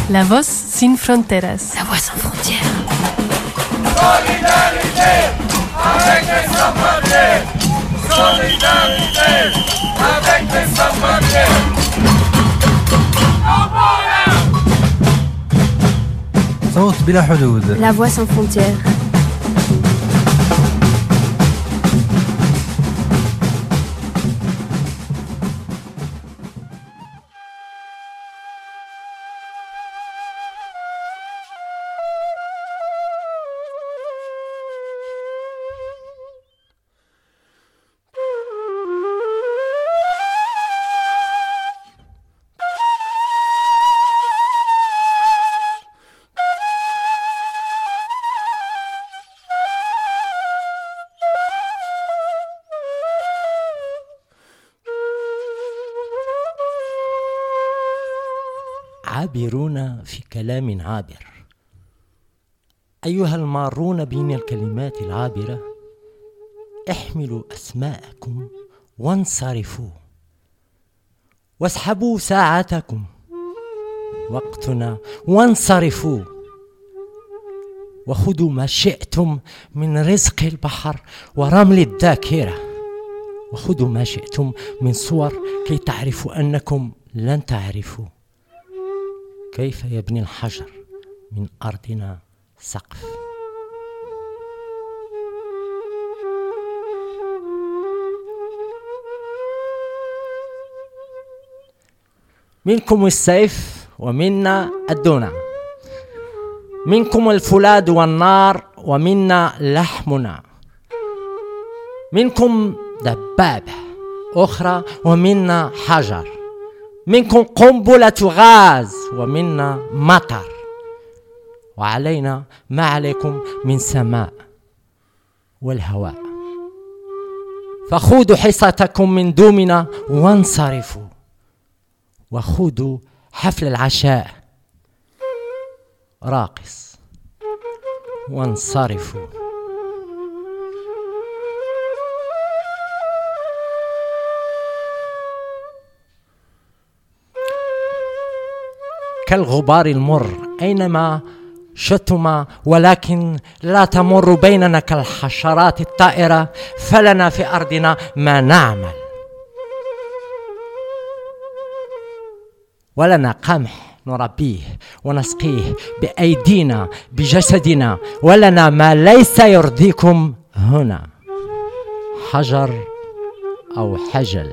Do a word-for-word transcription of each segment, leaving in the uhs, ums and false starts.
La voz sin fronteras. La voix sans frontières. Solidarité avec les sans-papiers. Solidarité avec les sans-papiers. صوت بلا حدود. La voix sans frontières. عابرون في كلام عابر. أيها المارون بين الكلمات العابرة، احملوا أسماءكم وانصرفوا واسحبوا ساعتكم وقتنا وانصرفوا وخذوا ما شئتم من رزق البحر ورمل الذاكرة، وخذوا ما شئتم من صور كي تعرفوا أنكم لن تعرفوا كيف يبني الحجر من أرضنا سقف. منكم السيف ومنا الدونة، منكم الفولاذ والنار ومنا لحمنا، منكم دبابة أخرى ومنا حجر، منكم قنبلة غاز ومنا مطر، وعلينا ما عليكم من سماء والهواء. فخذوا حصتكم من دومنا وانصرفوا، وخذوا حفل العشاء راقص وانصرفوا. كالغبار المر أينما شتم، ولكن لا تمر بيننا كالحشرات الطائرة، فلنا في أرضنا ما نعمل، ولنا قمح نربيه ونسقيه بأيدينا بجسدنا، ولنا ما ليس يرضيكم هنا، حجر أو حجل.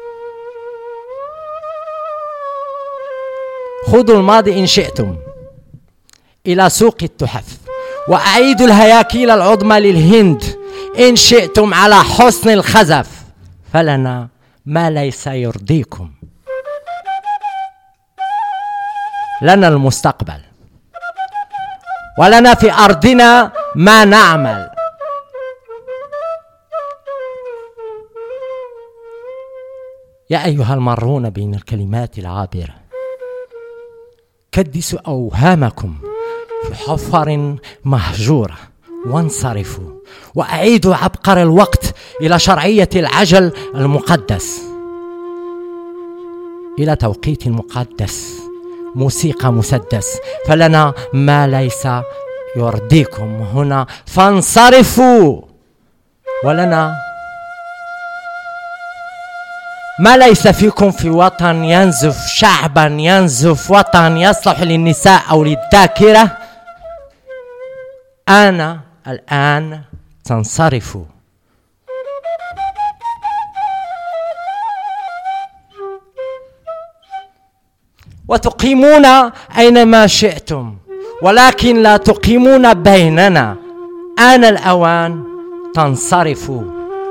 خذوا الماضي إن شئتم إلى سوق التحف، وأعيدوا الهياكيل العظمى للهند إن شئتم على حسن الخزف، فلنا ما ليس يرضيكم. لنا المستقبل، ولنا في أرضنا ما نعمل. يا أيها المارون بين الكلمات العابرة، كدسوا أوهامكم في حفر مهجورة وانصرفوا، وأعيدوا عبقر الوقت إلى شرعية العجل المقدس، إلى توقيت مقدس، موسيقى مسدس، فلنا ما ليس يرضيكم هنا، فانصرفوا. ولنا ما ليس فيكم في وطن ينزف شعبا، ينزف وطن يصلح للنساء أو للذاكرة. أنا الآن تنصرفوا. وتقيمون أينما شئتم، ولكن لا تقيمون بيننا. آن الأوان تنصرفوا،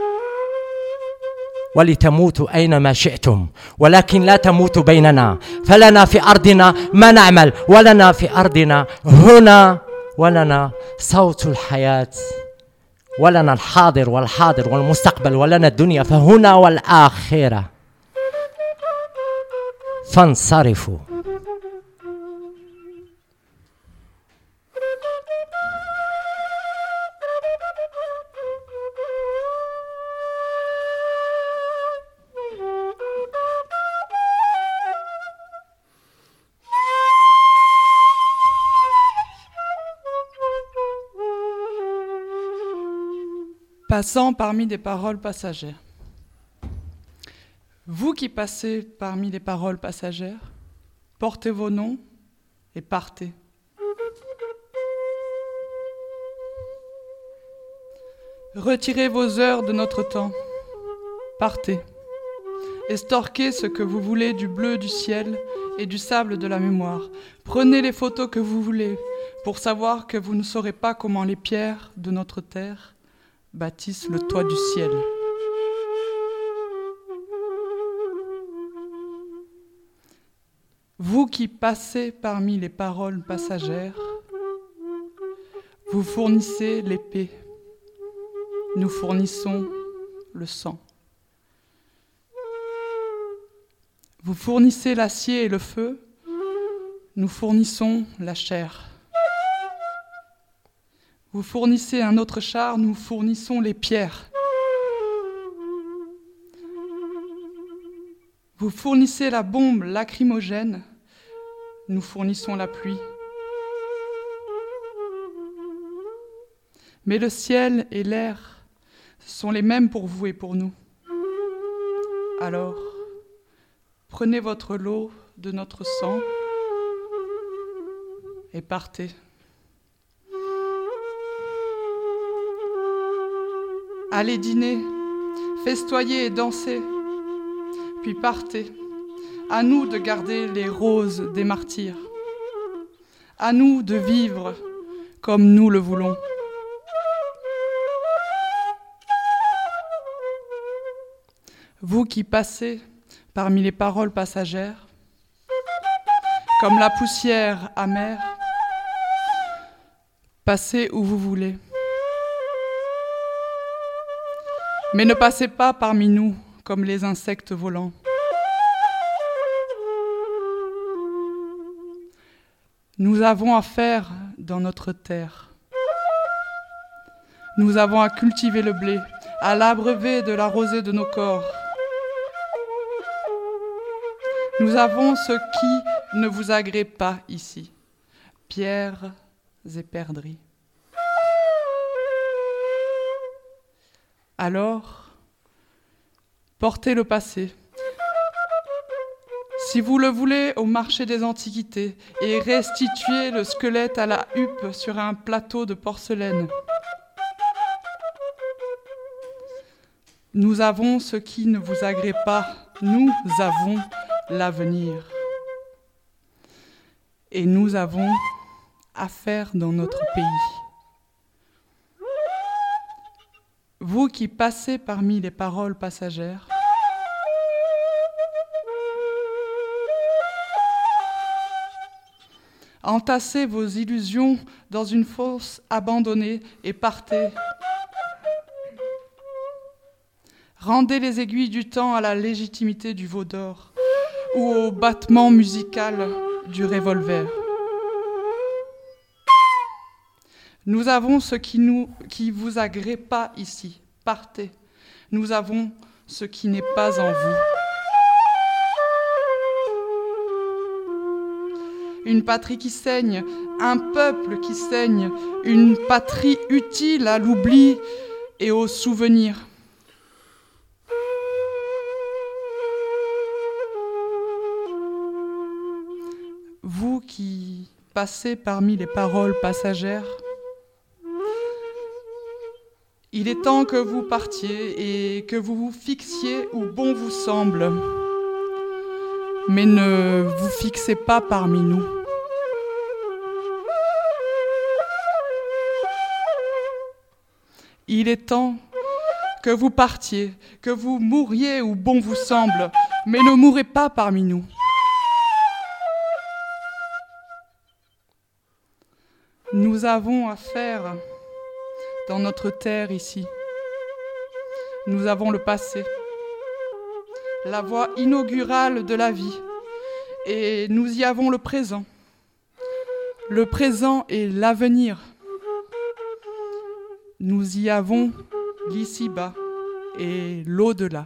ولتموتوا أينما شئتم، ولكن لا تموتوا بيننا، فلنا في أرضنا ما نعمل، ولنا في أرضنا هنا، ولنا صوت الحياة، ولنا الحاضر والحاضر والمستقبل، ولنا الدنيا فهنا والآخرة. فانصرفوا. Passant parmi des paroles passagères. Vous qui passez parmi les paroles passagères, portez vos noms et partez. Retirez vos heures de notre temps, partez. Estorquez ce que vous voulez du bleu du ciel et du sable de la mémoire. Prenez les photos que vous voulez pour savoir que vous ne saurez pas comment les pierres de notre terre bâtissent le toit du ciel. Vous qui passez parmi les paroles passagères, vous fournissez l'épée, nous fournissons le sang. Vous fournissez l'acier et le feu, nous fournissons la chair. Vous fournissez un autre char, nous fournissons les pierres. Vous fournissez la bombe lacrymogène, nous fournissons la pluie. Mais le ciel et l'air sont les mêmes pour vous et pour nous. Alors, prenez votre lot de notre sang et partez. Allez dîner, festoyer et danser, puis partez. À nous de garder les roses des martyrs. À nous de vivre comme nous le voulons. Vous qui passez parmi les paroles passagères, comme la poussière amère, passez où vous voulez. Mais ne passez pas parmi nous comme les insectes volants. Nous avons à faire dans notre terre. Nous avons à cultiver le blé, à l'abreuver de la rosée de nos corps. Nous avons ce qui ne vous agrée pas ici, pierres et perdrix. Alors, portez le passé, si vous le voulez, au marché des antiquités et restituez le squelette à la huppe sur un plateau de porcelaine. Nous avons ce qui ne vous agrée pas, nous avons l'avenir. Et nous avons affaire dans notre pays. Vous qui passez parmi les paroles passagères, entassez vos illusions dans une fosse abandonnée et partez. Rendez les aiguilles du temps à la légitimité du veau d'or ou au battement musical du revolver. Nous avons ce qui nous, qui vous agrée pas ici. Partez. Nous avons ce qui n'est pas en vous. Une patrie qui saigne, un peuple qui saigne, une patrie utile à l'oubli et au souvenir. Vous qui passez parmi les paroles passagères, il est temps que vous partiez et que vous vous fixiez où bon vous semble. Mais ne vous fixez pas parmi nous. Il est temps que vous partiez, que vous mouriez où bon vous semble, mais ne mourrez pas parmi nous. Nous avons à faire dans notre terre ici. Nous avons le passé, la voie inaugurale de la vie, et nous y avons le présent. Le présent et l'avenir. Nous y avons l'ici-bas et l'au-delà.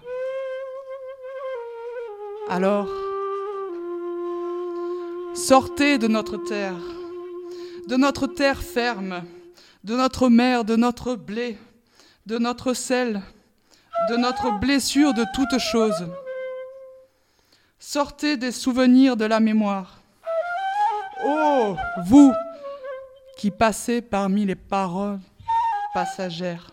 Alors, sortez de notre terre, de notre terre ferme, de notre mer, de notre blé, de notre sel, de notre blessure de toutes choses. Sortez des souvenirs de la mémoire. Oh, vous qui passez parmi les paroles passagères.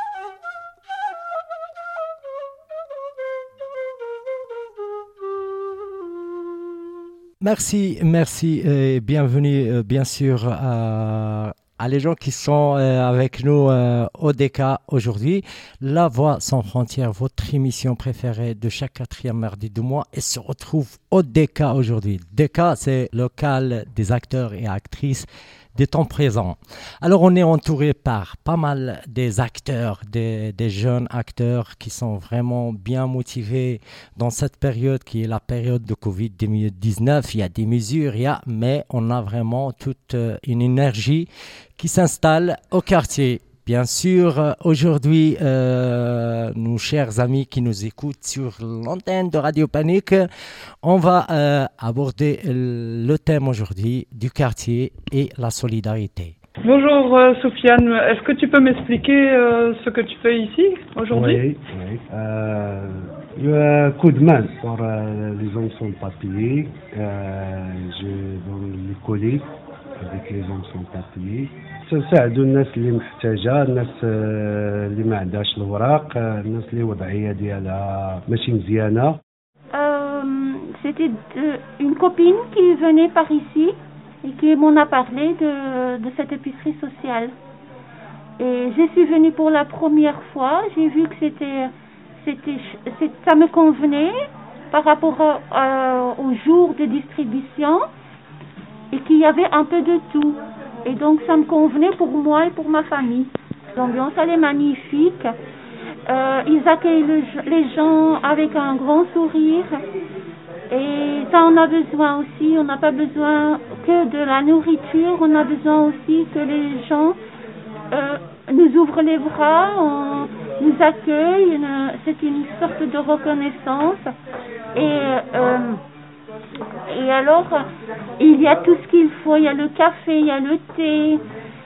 Merci, merci et bienvenue euh, bien sûr à, à les gens qui sont euh, avec nous euh, au D K aujourd'hui. La Voix sans frontières, votre émission préférée de chaque quatrième mardi du mois, et se retrouve au D K aujourd'hui. D K, c'est le local des acteurs et actrices des temps présents. Alors on est entouré par pas mal des acteurs, des, des jeunes acteurs qui sont vraiment bien motivés dans cette période qui est la période de covid dix-neuf. Il y a des mesures, il y a, mais on a vraiment toute une énergie qui s'installe au quartier. Bien sûr, aujourd'hui, euh, nos chers amis qui nous écoutent sur l'antenne de Radio Panique, on va euh, aborder le thème aujourd'hui du quartier et la solidarité. Bonjour euh, Sofiane, est-ce que tu peux m'expliquer euh, ce que tu fais ici aujourd'hui? Oui, oui. Euh, il y a un coup de main pour euh, les gens sans papier. Euh, je donne les colis avec les gens sans papier. تساعدوا الناس اللي محتاجه، الناس اللي ما عندهاش الوراق، الناس اللي وضعيه ديالها ماشي مزيانه. C'était de- une copine qui venait par ici et qui m'en a parlé de, de cette épicerie sociale. Et je suis venue pour la première fois. J'ai vu que c'était, c'était, ch- c'est- ça me convenait par rapport à- à- au jour de distribution et qu'il y avait un peu de tout. Et donc ça me convenait pour moi et pour ma famille. L'ambiance elle est magnifique. Euh, ils accueillent le- les gens avec un grand sourire. Et ça on a besoin aussi. On n'a pas besoin que de la nourriture. On a besoin aussi que les gens euh, nous ouvrent les bras, on, nous accueillent. Une- c'est une sorte de reconnaissance. Et euh, Et alors, il y a tout ce qu'il faut. Il y a le café, il y a le thé,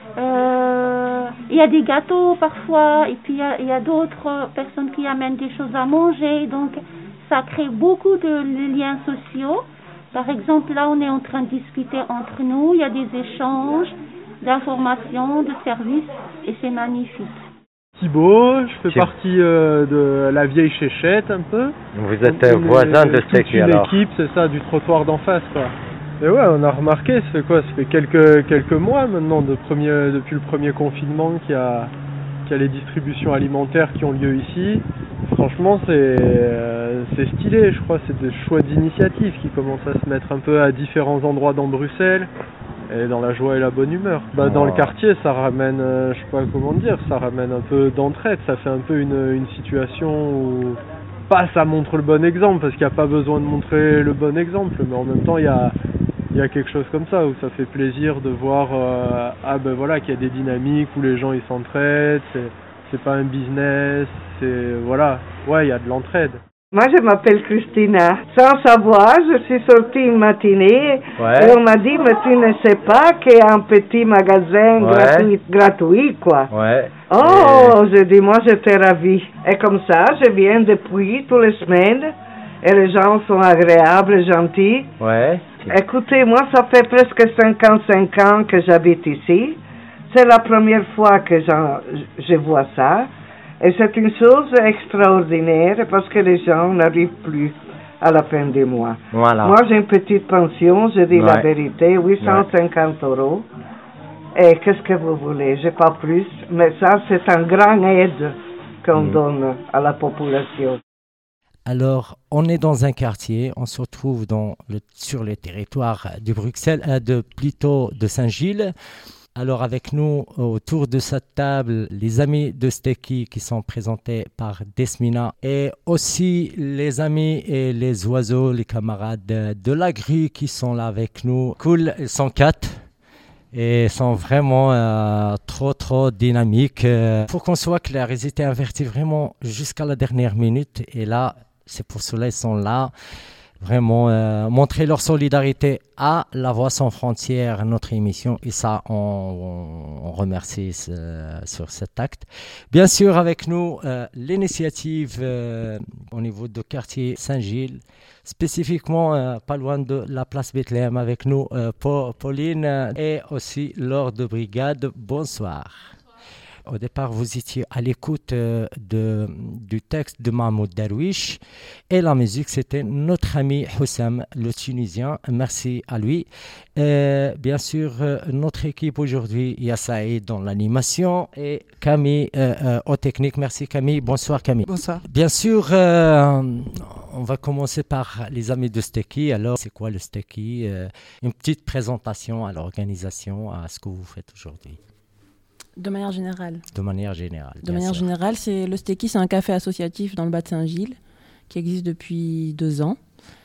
euh, il y a des gâteaux parfois. Et puis, il y a, il y a d'autres personnes qui amènent des choses à manger. Donc, ça crée beaucoup de liens sociaux. Par exemple, là, on est en train de discuter entre nous. Il y a des échanges d'informations, de services. Et c'est magnifique. Thibaut, je fais Thibaut. partie euh, de la vieille Chéchette un peu. Vous êtes un Une- voisin de toute Seki une alors. équipe, c'est ça, du trottoir d'en face quoi. Et ouais, on a remarqué, ça fait quoi? Ça fait quelques quelques mois maintenant de premier, depuis le premier confinement qu'il y a qu'il y a les distributions alimentaires qui ont lieu ici. Franchement, c'est euh, c'est stylé, je crois, c'est des choix d'initiative qui commencent à se mettre un peu à différents endroits dans Bruxelles. Et dans la joie et la bonne humeur. Bah, dans le quartier, ça ramène, euh, je sais pas comment dire, ça ramène un peu d'entraide. Ça fait un peu une, une situation où, pas ça montre le bon exemple, parce qu'il n'y a pas besoin de montrer le bon exemple, mais en même temps, il y a, il y a quelque chose comme ça, où ça fait plaisir de voir, euh, ah ben voilà, qu'il y a des dynamiques, où les gens ils s'entraident, c'est, c'est pas un business, c'est, voilà, ouais, il y a de l'entraide. Moi, je m'appelle Christina. Sans savoir, je suis sortie une matinée Ouais. et on m'a dit, mais tu ne sais pas qu'il y a un petit magasin Ouais. gratuit, gratuit, quoi. Ouais. Oh, je dis, moi, j'étais ravie. Et comme ça, je viens depuis toutes les semaines et les gens sont agréables, gentils. Ouais. Écoutez, moi, ça fait presque cinquante-cinq ans que j'habite ici. C'est la première fois que j'en- je vois ça. Et c'est une chose extraordinaire parce que les gens n'arrivent plus à la fin du mois. Voilà. Moi, j'ai une petite pension, je dis la Ouais. vérité, huit cent cinquante euros. Et qu'est-ce que vous voulez? J'ai pas plus. Mais ça, c'est un grand aide qu'on Mm. donne à la population. Alors, on est dans un quartier, on se retrouve dans le, sur le territoire de Bruxelles, euh, de, plutôt de Saint-Gilles. Alors, avec nous, autour de cette table, les amis de Stekkie qui sont présentés par Desmina et aussi les amis et les oiseaux, les camarades de, de la grue qui sont là avec nous. Cool, ils sont quatre et sont vraiment euh, trop, trop dynamiques. Euh, pour qu'on soit clair, ils étaient avertis vraiment jusqu'à la dernière minute et là, c'est pour cela qu'ils sont là. vraiment euh, montrer leur solidarité à La Voix sans frontières, notre émission, et ça, on, on, on remercie ce, sur cet acte. Bien sûr, avec nous, euh, l'initiative euh, au niveau du quartier Saint-Gilles, spécifiquement euh, pas loin de la place Bethléem, avec nous, euh, Pauline euh, et aussi Laure de Brigade. Bonsoir. Au départ, vous étiez à l'écoute euh, de, du texte de Mahmoud Darwish et la musique, c'était notre ami Hussam, le Tunisien. Merci à lui. Euh, bien sûr, euh, notre équipe aujourd'hui, il y a Saïd dans l'animation et Camille euh, euh, aux techniques. Merci Camille. Bonsoir Camille. Bonsoir. Bien sûr, euh, on va commencer par les amis de Steki. Alors, c'est quoi le Steki? euh, Une petite présentation à l'organisation, à ce que vous faites aujourd'hui. De manière générale. De manière générale. De manière sûr. générale, c'est le Steki, c'est un café associatif dans le bas de Saint-Gilles qui existe depuis deux ans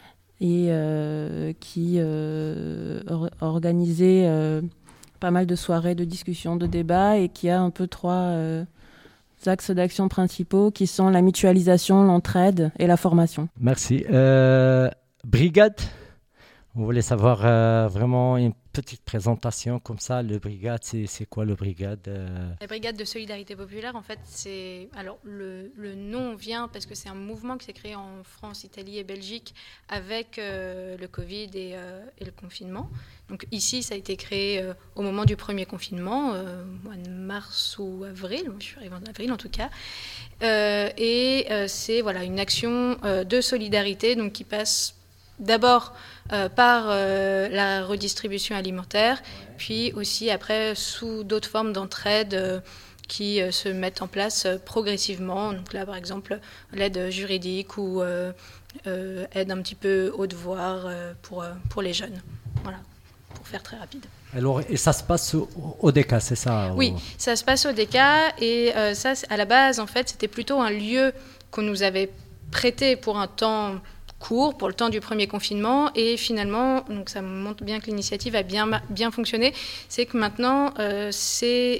et euh, qui euh, or- organisait euh, pas mal de soirées, de discussions, de débats et qui a un peu trois euh, axes d'action principaux qui sont la mutualisation, l'entraide et la formation. Merci. Euh, brigade, on voulait savoir euh, vraiment une petite présentation comme ça. Le brigade, c'est, c'est quoi le brigade euh... La brigade de solidarité populaire, en fait, c'est... Alors, le, le nom vient parce que c'est un mouvement qui s'est créé en France, Italie et Belgique avec euh, le Covid et, euh, et le confinement. Donc ici, ça a été créé euh, au moment du premier confinement, euh, mois de mars ou avril, je suis arrivée en avril en tout cas. Euh, et euh, c'est voilà, une action euh, de solidarité donc, qui passe d'abord euh, par euh, la redistribution alimentaire, puis aussi après sous d'autres formes d'entraide euh, qui euh, se mettent en place euh, progressivement. Donc là, par exemple, l'aide juridique ou euh, euh, aide un petit peu au devoir euh, pour, euh, pour les jeunes. Voilà, pour faire très rapide. Alors, et ça se passe au, au D K, c'est ça? Oui, au... ça se passe au D K et euh, ça, à la base, en fait, c'était plutôt un lieu qu'on nous avait prêté pour un temps court, pour le temps du premier confinement, et finalement, donc ça montre bien que l'initiative a bien, bien fonctionné, c'est que maintenant, euh, c'est,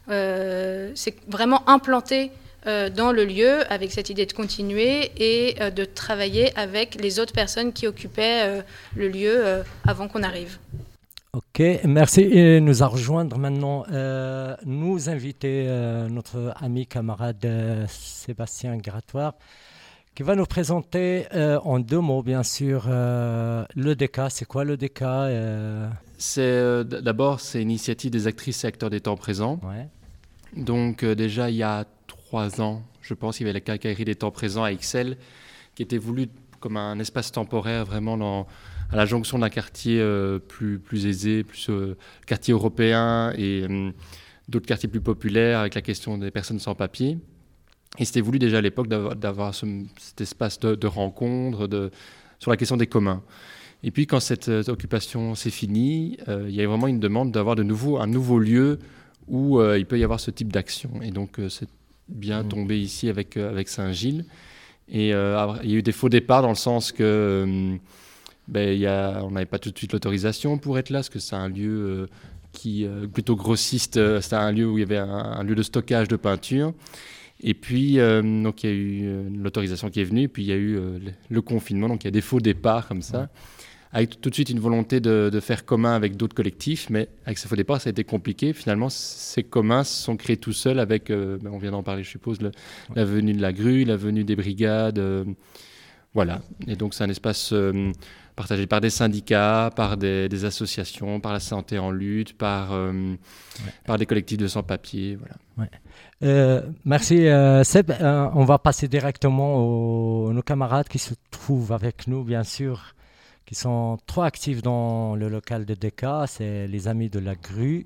euh, c'est vraiment implanté euh, dans le lieu, avec cette idée de continuer et euh, de travailler avec les autres personnes qui occupaient euh, le lieu euh, avant qu'on arrive. Ok, merci. Et nous a rejoindre maintenant euh, nous inviter euh, notre ami camarade euh, Sébastien Grattoire, qui va nous présenter euh, en deux mots, bien sûr, euh, le D K. C'est quoi le D K euh... C'est euh, d'abord c'est une initiative des actrices et acteurs des temps présents. Ouais. Donc euh, déjà il y a trois ans, je pense, il y avait la quincaillerie des temps présents à Ixelles, qui était voulue comme un espace temporaire vraiment dans, à la jonction d'un quartier euh, plus plus aisé, plus euh, quartier européen et euh, d'autres quartiers plus populaires avec la question des personnes sans papier. Et c'était voulu déjà à l'époque d'avoir, d'avoir ce, cet espace de, de rencontre de, sur la question des communs. Et puis quand cette euh, occupation s'est finie, euh, il y a vraiment une demande d'avoir de nouveau un nouveau lieu où euh, il peut y avoir ce type d'action. Et donc euh, c'est bien mmh. tombé ici avec, euh, avec Saint-Gilles. Et euh, il y a eu des faux départs dans le sens que euh, ben, y a, on n'avait pas tout de suite l'autorisation pour être là, parce que c'est un lieu euh, qui euh, plutôt grossiste, euh, c'était un lieu où il y avait un, un lieu de stockage de peinture. Et puis, euh, donc, il y a eu euh, l'autorisation qui est venue, puis il y a eu euh, le, le confinement, donc il y a des faux départs comme ça, ouais. avec tout de suite une volonté de, de faire commun avec d'autres collectifs, mais avec ces faux départs, ça a été compliqué. Finalement, ces communs se sont créés tout seuls avec, euh, ben, on vient d'en parler, je suppose, le, ouais. la venue de la grue, la venue des brigades, euh, voilà. Et donc, c'est un espace euh, partagé par des syndicats, par des, des associations, par la santé en lutte, par, euh, ouais. par des collectifs de sans-papiers, voilà. Ouais. Euh, merci euh, Seb. Euh, on va passer directement aux nos camarades qui se trouvent avec nous, bien sûr, qui sont trop actifs dans le local de D K. C'est les amis de la grue.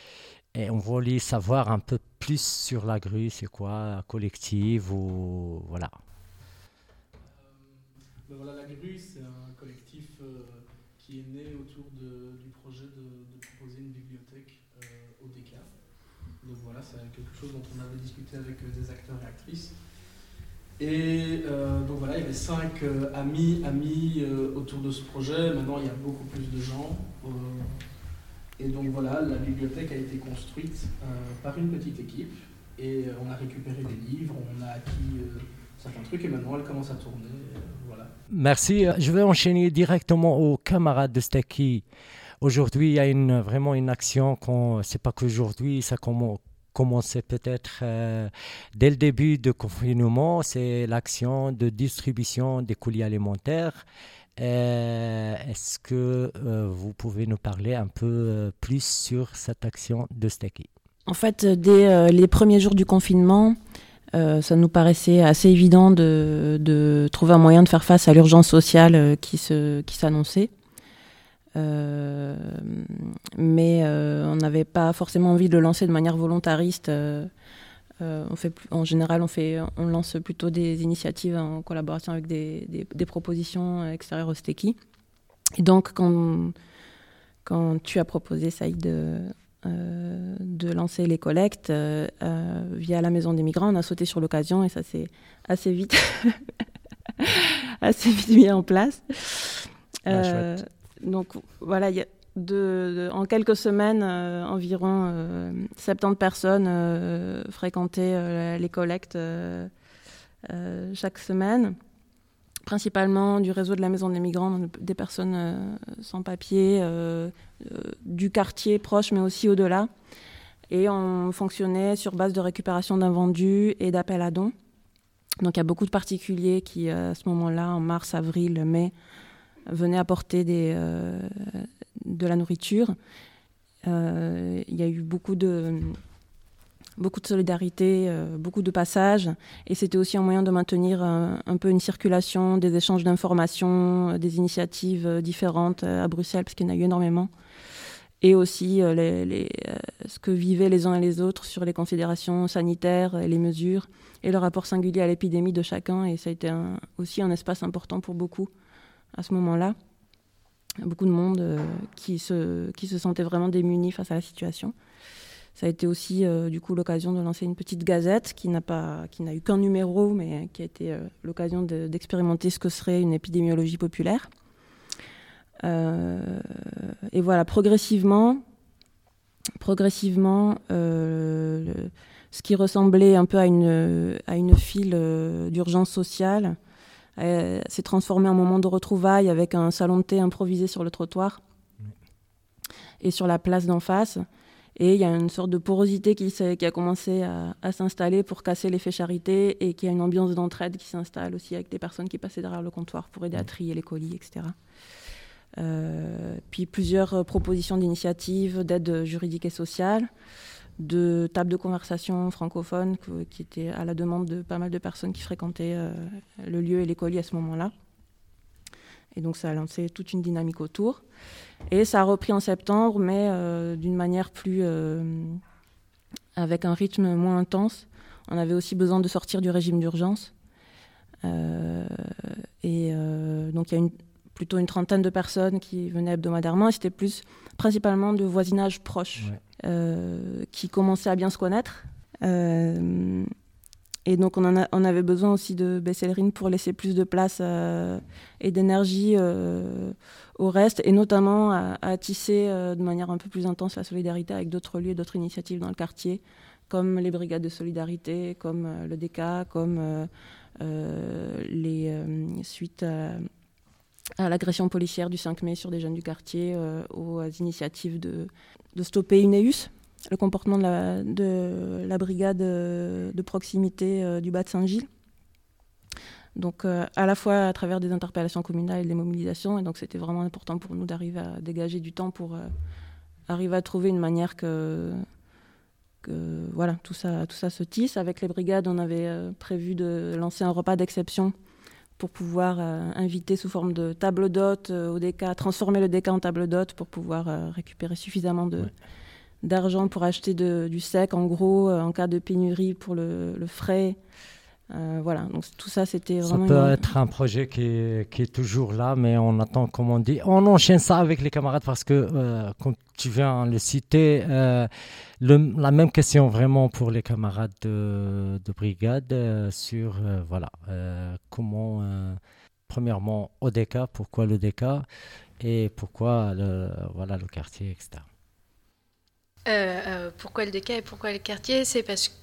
Et on voulait savoir un peu plus sur la grue. C'est quoi, collectif ou voilà. Ben voilà, la grue, c'est un collectif euh, qui est né autour de, du projet de, de proposer une bibliothèque euh, au D K. Donc voilà, c'est quelque chose dont on avait discuté avec euh, des acteurs et actrices. Et euh, donc voilà, il y avait cinq euh, amis, amis euh, autour de ce projet. Maintenant, il y a beaucoup plus de gens. Euh, et donc voilà, la bibliothèque a été construite euh, par une petite équipe. Et euh, on a récupéré des livres, on a acquis euh, certains trucs et maintenant elle commence à tourner. Euh, voilà. Merci. Je vais enchaîner directement aux camarades de Steki. Aujourd'hui, il y a une, vraiment une action, qu'on, c'est pas qu'aujourd'hui, ça commence. commençait peut-être euh, dès le début du confinement, c'est l'action de distribution des colis alimentaires. Euh, est-ce que euh, vous pouvez nous parler un peu euh, plus sur cette action de Steki? En fait, dès euh, les premiers jours du confinement, euh, ça nous paraissait assez évident de, de trouver un moyen de faire face à l'urgence sociale euh, qui, se, qui s'annonçait. Euh, mais euh, on n'avait pas forcément envie de le lancer de manière volontariste. Euh, euh, on fait, en général, on, fait, on lance plutôt des initiatives en collaboration avec des, des, des propositions extérieures au Steki. Et donc, quand, quand tu as proposé, Saïd, de, euh, de lancer les collectes euh, euh, via la Maison des Migrants, on a sauté sur l'occasion et ça s'est assez vite, assez vite mis en place. Euh, ah, Donc voilà, y a de, de, en quelques semaines, euh, environ euh, soixante-dix personnes euh, fréquentaient euh, les collectes euh, euh, chaque semaine, principalement du réseau de la Maison des Migrants, des personnes euh, sans papier, euh, euh, du quartier proche, mais aussi au-delà. Et on fonctionnait sur base de récupération d'invendus et d'appels à dons. Donc il y a beaucoup de particuliers qui, à ce moment-là, en mars, avril, mai, venaient apporter des, euh, de la nourriture. Euh, il y a eu beaucoup de, beaucoup de solidarité, euh, beaucoup de passages. Et c'était aussi un moyen de maintenir un, un peu une circulation, des échanges d'informations, des initiatives différentes à Bruxelles, parce qu'il y en a eu énormément. Et aussi euh, les, les, euh, ce que vivaient les uns et les autres sur les considérations sanitaires, et les mesures, et le rapport singulier à l'épidémie de chacun. Et ça a été un, aussi un espace important pour beaucoup à ce moment-là. Beaucoup de monde euh, qui, se, qui se sentait vraiment démunis face à la situation. Ça a été aussi euh, du coup l'occasion de lancer une petite gazette qui n'a, pas, qui n'a eu qu'un numéro, mais qui a été euh, l'occasion de, d'expérimenter ce que serait une épidémiologie populaire. Euh, et voilà, progressivement, progressivement euh, le, ce qui ressemblait un peu à une, à une file euh, d'urgence sociale Euh, s'est transformé en moment de retrouvailles avec un salon de thé improvisé sur le trottoir et sur la place d'en face. Et il y a une sorte de porosité qui, qui a commencé à, à s'installer pour casser l'effet charité et qu'il y a une ambiance d'entraide qui s'installe aussi avec des personnes qui passaient derrière le comptoir pour aider à trier les colis, et cetera. Euh, puis plusieurs propositions d'initiatives d'aide juridique et sociale, de tables de conversation francophones qui étaient à la demande de pas mal de personnes qui fréquentaient euh, le lieu et les colis à ce moment-là. Et donc ça a lancé toute une dynamique autour. Et ça a repris en septembre, mais euh, d'une manière plus... Euh, avec un rythme moins intense. On avait aussi besoin de sortir du régime d'urgence. Euh, et euh, donc il y a une, plutôt une trentaine de personnes qui venaient hebdomadairement. Et c'était plus principalement de voisinage proche. Ouais. Euh, qui commençaient à bien se connaître. Euh, et donc, on, en a, on avait besoin aussi de baisser le rythme pour laisser plus de place euh, et d'énergie euh, au reste, et notamment à, à tisser euh, de manière un peu plus intense la solidarité avec d'autres lieux, d'autres initiatives dans le quartier, comme les brigades de solidarité, comme euh, le D K, comme euh, euh, les euh, suites à, à l'agression policière du cinq mai sur des jeunes du quartier, euh, aux initiatives de, de stopper Ineus, le comportement de la, de la brigade de proximité euh, du Bas de Saint-Gilles. Donc euh, à la fois à travers des interpellations communales et des mobilisations, et donc c'était vraiment important pour nous d'arriver à dégager du temps pour euh, arriver à trouver une manière que, que voilà, tout ça, tout ça se tisse. Avec les brigades, on avait euh, prévu de lancer un repas d'exception pour pouvoir euh, inviter sous forme de table d'hôte euh, au D K, transformer le D K en table d'hôte pour pouvoir euh, récupérer suffisamment de, ouais. d'argent pour acheter de, du sec, en gros, euh, en cas de pénurie pour le, le frais. Euh, voilà, donc tout ça, c'était vraiment... Ça peut une... être un projet qui est, qui est toujours là, mais on attend, comme on dit, on enchaîne ça avec les camarades parce que, euh, comme tu viens de le citer, euh, le, la même question vraiment pour les camarades de, de brigade euh, sur, euh, voilà, euh, comment, euh, premièrement, O D K, pourquoi le D K et pourquoi le, voilà, le quartier, et cetera. Euh, euh, pourquoi le D K et pourquoi le quartier ?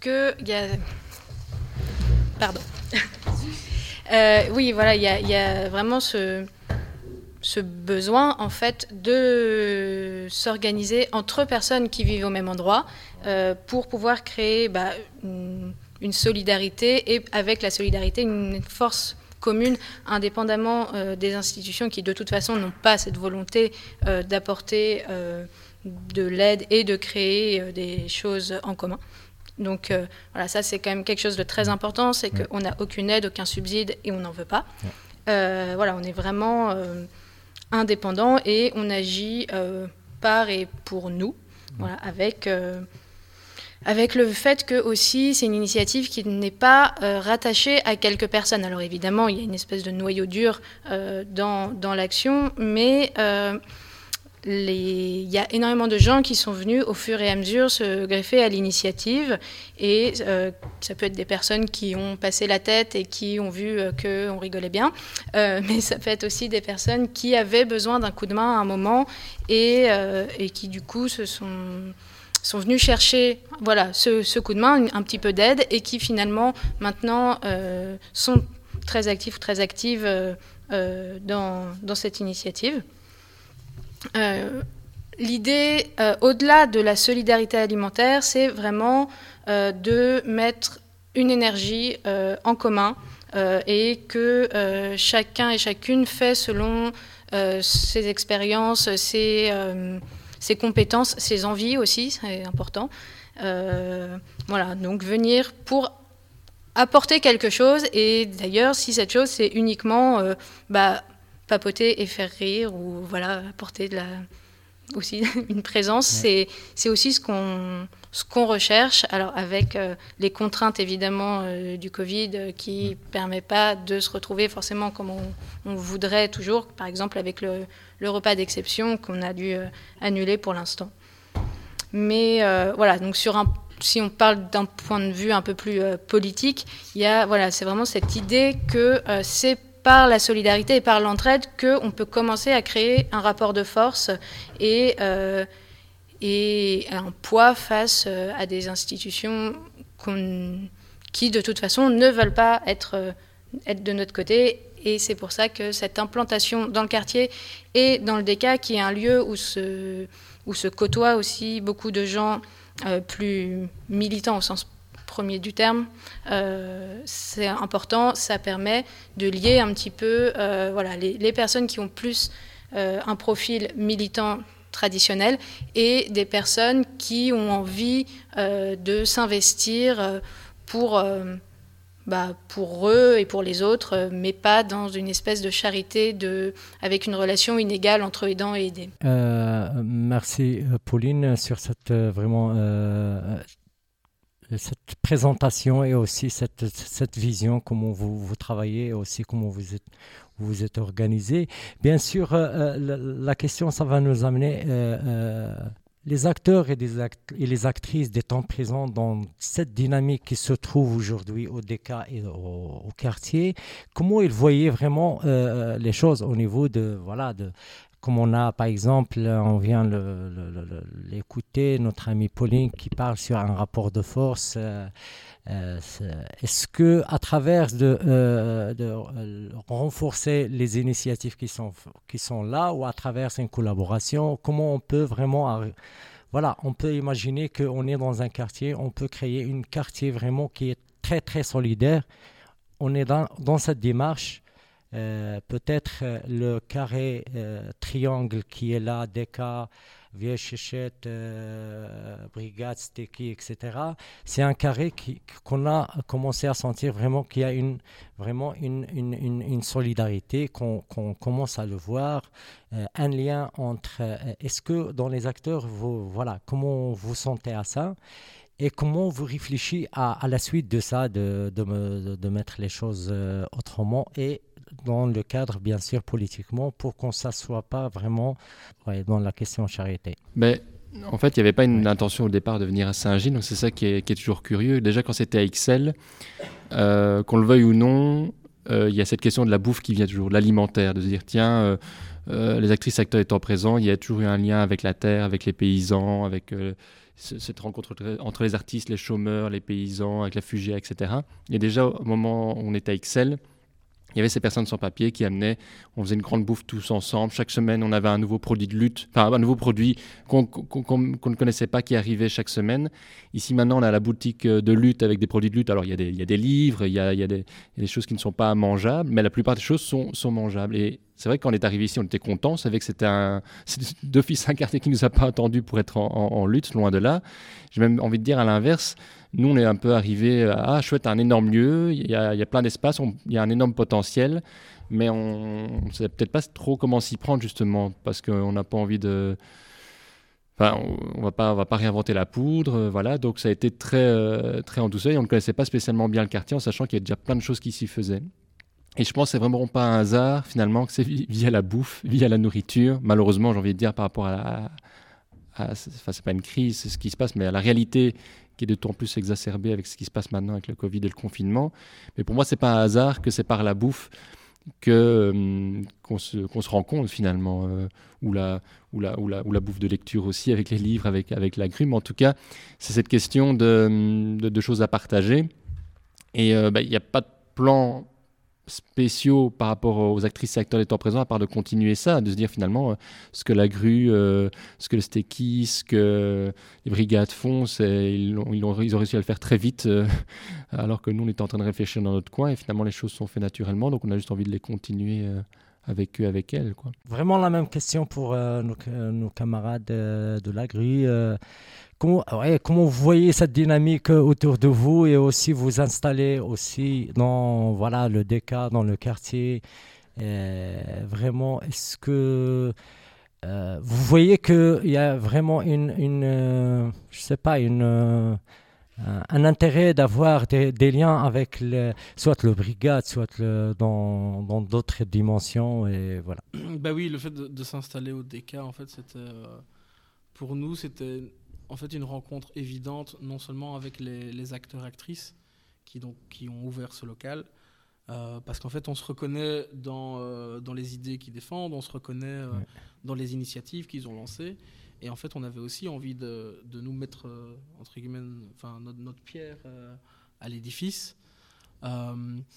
C'est parce que il y a... Pardon. Euh, oui, voilà, il y, y a vraiment ce, ce besoin, en fait, de s'organiser entre personnes qui vivent au même endroit euh, pour pouvoir créer bah, une, une solidarité et avec la solidarité, une force commune, indépendamment euh, des institutions qui, de toute façon, n'ont pas cette volonté euh, d'apporter euh, de l'aide et de créer euh, des choses en commun. Donc euh, voilà, ça c'est quand même quelque chose de très important, c'est ouais. qu'on n'a aucune aide, aucun subside et on n'en veut pas. Ouais. Euh, voilà, on est vraiment euh, indépendant et on agit euh, par et pour nous, ouais. voilà, avec... Euh, Avec le fait que aussi c'est une initiative qui n'est pas euh, rattachée à quelques personnes. Alors évidemment, il y a une espèce de noyau dur euh, dans, dans l'action, mais euh, les... il y a énormément de gens qui sont venus au fur et à mesure se greffer à l'initiative. Et euh, ça peut être des personnes qui ont passé la tête et qui ont vu euh, qu'on rigolait bien, euh, mais ça peut être aussi des personnes qui avaient besoin d'un coup de main à un moment et, euh, et qui du coup se sont... sont venus chercher voilà, ce, ce coup de main, un petit peu d'aide, et qui finalement maintenant euh, sont très actifs, très actives euh, euh, dans, dans cette initiative. Euh, l'idée, euh, au-delà de la solidarité alimentaire, c'est vraiment euh, de mettre une énergie euh, en commun euh, et que euh, chacun et chacune fait selon euh, ses expériences, ses... Euh, ses compétences, ses envies aussi, c'est important. Euh, voilà, donc venir pour apporter quelque chose, et d'ailleurs, si cette chose, c'est uniquement euh, bah, papoter et faire rire, ou voilà, apporter de la, aussi une présence, ouais. c'est, c'est aussi ce qu'on, ce qu'on recherche, alors avec euh, les contraintes évidemment euh, du Covid euh, qui ne mmh. permet pas de se retrouver forcément comme on, on voudrait toujours, par exemple avec le le repas d'exception qu'on a dû euh, annuler pour l'instant. Mais euh, voilà, donc sur un, si on parle d'un point de vue un peu plus euh, politique, il y a, voilà, c'est vraiment cette idée que euh, c'est par la solidarité et par l'entraide qu'on peut commencer à créer un rapport de force et, euh, et un poids face euh, à des institutions qu'on, qui, de toute façon, ne veulent pas être, euh, être de notre côté. Et c'est pour ça que cette implantation dans le quartier et dans le D K, qui est un lieu où se, où se côtoient aussi beaucoup de gens euh, plus militants au sens premier du terme, euh, c'est important. Ça permet de lier un petit peu euh, voilà, les, les personnes qui ont plus euh, un profil militant traditionnel et des personnes qui ont envie euh, de s'investir euh, pour... Euh, Bah, pour eux et pour les autres, mais pas dans une espèce de charité de, avec une relation inégale entre aidant et aidé. Euh, merci Pauline sur cette euh, vraiment euh, cette présentation et aussi cette, cette vision, comment vous, vous travaillez et aussi comment vous êtes, vous êtes organisé. Bien sûr, euh, la, la question, ça va nous amener... Euh, euh, les acteurs et, des act- et les actrices des temps présents dans cette dynamique qui se trouve aujourd'hui au D K et au, au quartier, comment ils voyaient vraiment euh, les choses au niveau de, voilà, de, comme on a par exemple, on vient le, le, le, l'écouter, notre amie Pauline qui parle sur un rapport de force. Euh, Euh, est-ce que à travers de, euh, de euh, renforcer les initiatives qui sont qui sont là ou à travers une collaboration, comment on peut vraiment arri- voilà, on peut imaginer qu'on est dans un quartier, on peut créer un quartier vraiment qui est très très solidaire. On est dans, dans cette démarche. Euh, peut-être euh, le carré euh, triangle qui est là, D K, Vieille Chéchette, euh, Brigade, Steki, et cetera. C'est un carré qui, qu'on a commencé à sentir vraiment qu'il y a une, vraiment une, une, une, une solidarité, qu'on, qu'on commence à le voir, euh, un lien entre... Euh, est-ce que dans les acteurs, vous, voilà, comment vous sentez à ça et comment vous réfléchissez à, à la suite de ça, de, de, de, de mettre les choses euh, autrement et dans le cadre, bien sûr, politiquement, pour qu'on ne s'assoie pas vraiment ouais, dans la question charité. Mais en fait, il n'y avait pas une ouais. intention au départ de venir à Saint-Gilles, donc c'est ça qui est, qui est toujours curieux. Déjà, quand c'était à Ixelles, euh, qu'on le veuille ou non, il euh, y a cette question de la bouffe qui vient toujours, l'alimentaire, de se dire, tiens, euh, euh, les actrices, acteurs étant présents, il y a toujours eu un lien avec la terre, avec les paysans, avec... Euh, cette rencontre entre les artistes, les chômeurs, les paysans, avec la Fugea, et cetera. Et déjà, au moment où on était à Ixelles, il y avait ces personnes sans papier qui amenaient, on faisait une grande bouffe tous ensemble. Chaque semaine, on avait un nouveau produit de lutte, enfin un nouveau produit qu'on, qu'on, qu'on, qu'on ne connaissait pas qui arrivait chaque semaine. Ici, maintenant, on a la boutique de lutte avec des produits de lutte. Alors, il y a des, il y a des livres, il y a, il y a des, il y a des choses qui ne sont pas mangeables, mais la plupart des choses sont, sont mangeables. Et c'est vrai que quand on est arrivé ici, on était contents. On savait que c'était un, c'était d'office un quartier qui ne nous a pas attendu pour être en, en, en lutte, loin de là. J'ai même envie de dire à l'inverse, nous, on est un peu arrivé à ah, chouette, un énorme lieu, il y a, il y a plein d'espace, on, il y a un énorme potentiel, mais on ne sait peut-être pas trop comment s'y prendre, justement, parce qu'on n'a pas envie de... Enfin, on ne va pas, on va pas réinventer la poudre, euh, voilà. Donc, ça a été très, euh, très en douceur. Et on ne connaissait pas spécialement bien le quartier, en sachant qu'il y a déjà plein de choses qui s'y faisaient. Et je pense que c'est vraiment pas un hasard, finalement, que c'est via la bouffe, via la nourriture. Malheureusement, j'ai envie de dire, par rapport à la... À, enfin, c'est pas une crise, c'est ce qui se passe, mais à la réalité qui est d'autant plus exacerbée avec ce qui se passe maintenant avec le Covid et le confinement. Mais pour moi, c'est pas un hasard que c'est par la bouffe que, hum, qu'on, se, qu'on se rencontre finalement, euh, ou, la, ou, la, ou, la, ou la bouffe de lecture aussi, avec les livres, avec, avec la grue. Mais en tout cas, c'est cette question de, de, de choses à partager. Et il euh, n'y bah, a pas de plan spéciaux par rapport aux actrices et acteurs des temps présents, à part de continuer ça, de se dire finalement euh, ce que la grue, euh, ce que le Stéki, ce que les brigades font, c'est, ils, ont, ils, ont, ils ont réussi à le faire très vite, euh, alors que nous on était en train de réfléchir dans notre coin, et finalement les choses sont faites naturellement, donc on a juste envie de les continuer euh, avec eux, avec elles, quoi. Vraiment la même question pour euh, nos, nos camarades euh, de la grue. Euh, Comment, ouais, comment vous voyez cette dynamique autour de vous et aussi vous installer aussi dans voilà, le D K, dans le quartier. Euh, vraiment, est-ce que euh, vous voyez qu'il y a vraiment une, une euh, je sais pas, une, euh, un intérêt d'avoir des, des liens avec le, soit le brigade, soit le, dans, dans d'autres dimensions et voilà. Bah oui, le fait de, de s'installer au D K, en fait, c'était, euh, pour nous, c'était en fait une rencontre évidente, non seulement avec les, les acteurs-actrices qui, donc, qui ont ouvert ce local, euh, parce qu'en fait on se reconnaît dans, euh, dans les idées qu'ils défendent, on se reconnaît euh, ouais. dans les initiatives qu'ils ont lancées, et en fait on avait aussi envie de, de nous mettre euh, entre guillemets, enfin, notre, notre pierre euh, à l'édifice. Euh,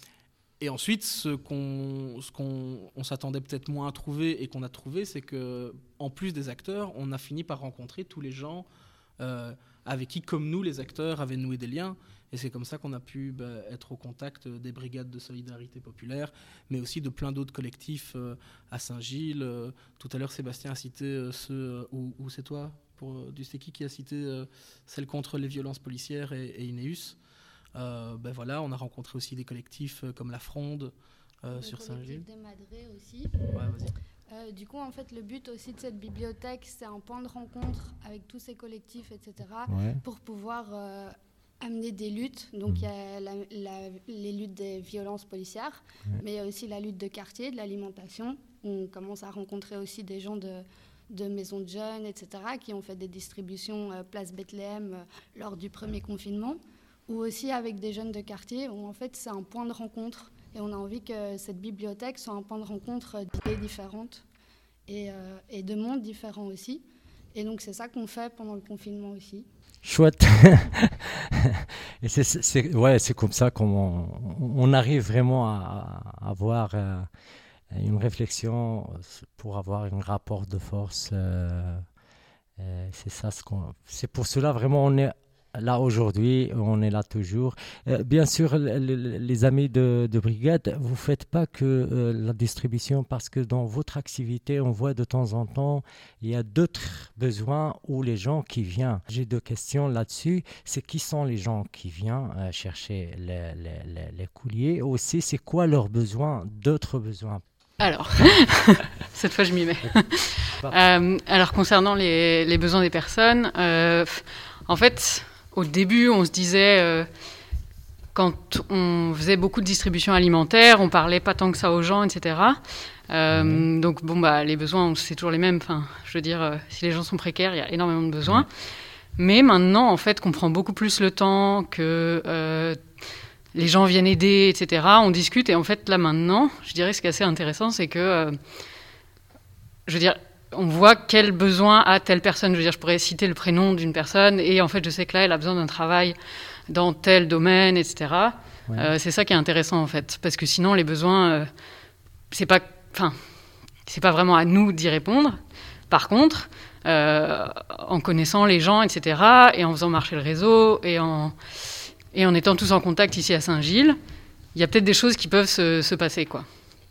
et ensuite, ce qu'on, ce qu'on on s'attendait peut-être moins à trouver et qu'on a trouvé, c'est qu'en plus des acteurs, on a fini par rencontrer tous les gens Euh, avec qui, comme nous, les acteurs avaient noué des liens. Et c'est comme ça qu'on a pu bah, être au contact des brigades de solidarité populaire, mais aussi de plein d'autres collectifs euh, à Saint-Gilles. Euh, tout à l'heure, Sébastien a cité euh, ceux, euh, ou, ou c'est toi, pour, euh, du Stéki, qui a cité euh, celle contre les violences policières et, et Ineus. Euh, ben voilà, on a rencontré aussi des collectifs euh, comme La Fronde euh, sur Saint-Gilles. Le collectif des Madrés aussi. Ouais, vas-y. Euh, du coup, en fait, le but aussi de cette bibliothèque, c'est un point de rencontre avec tous ces collectifs, et cetera, ouais. pour pouvoir euh, amener des luttes. Donc, il mmh. y a la, la, les luttes des violences policières, ouais. mais il y a aussi la lutte de quartier, de l'alimentation. On commence à rencontrer aussi des gens de, de maisons de jeunes, et cetera, qui ont fait des distributions euh, place Bethléem euh, lors du premier confinement, ou aussi avec des jeunes de quartier, où en fait, c'est un point de rencontre. Et on a envie que cette bibliothèque soit un point de rencontre d'idées différentes et, euh, et de mondes différents aussi. Et donc, c'est ça qu'on fait pendant le confinement aussi. Chouette. Et c'est, c'est, ouais, c'est comme ça qu'on on arrive vraiment à, à avoir euh, une réflexion pour avoir un rapport de force. Euh, euh, c'est ça ce qu'on, c'est pour cela vraiment on est là aujourd'hui, on est là toujours. Euh, bien sûr, l- l- les amis de, de brigade, vous ne faites pas que euh, la distribution, parce que dans votre activité, on voit de temps en temps, il y a d'autres besoins où les gens qui viennent. J'ai deux questions là-dessus. C'est qui sont les gens qui viennent euh, chercher les, les, les, les couliers? Aussi, c'est quoi leurs besoins, d'autres besoins? Alors, cette fois je m'y mets. euh, alors, concernant les, les besoins des personnes, euh, en fait... Au début, on se disait, euh, quand on faisait beaucoup de distribution alimentaire, on parlait pas tant que ça aux gens, et cetera. Euh, mmh. Donc, bon, bah, les besoins, c'est toujours les mêmes. Enfin, je veux dire, euh, si les gens sont précaires, il y a énormément de besoins. Mmh. Mais maintenant, en fait, qu'on prend beaucoup plus le temps, que euh, les gens viennent aider, et cetera. On discute. Et en fait, là, maintenant, je dirais, ce qui est assez intéressant, c'est que, euh, je veux dire, on voit quel besoin a telle personne. Je veux dire, je pourrais citer le prénom d'une personne et en fait, je sais que là, elle a besoin d'un travail dans tel domaine, et cetera. Ouais. Euh, c'est ça qui est intéressant en fait, parce que sinon les besoins, euh, c'est pas, enfin, c'est pas vraiment à nous d'y répondre. Par contre, euh, en connaissant les gens, et cetera, et en faisant marcher le réseau, et en, et en étant tous en contact ici à Saint-Gilles, il y a peut-être des choses qui peuvent se, se passer, quoi.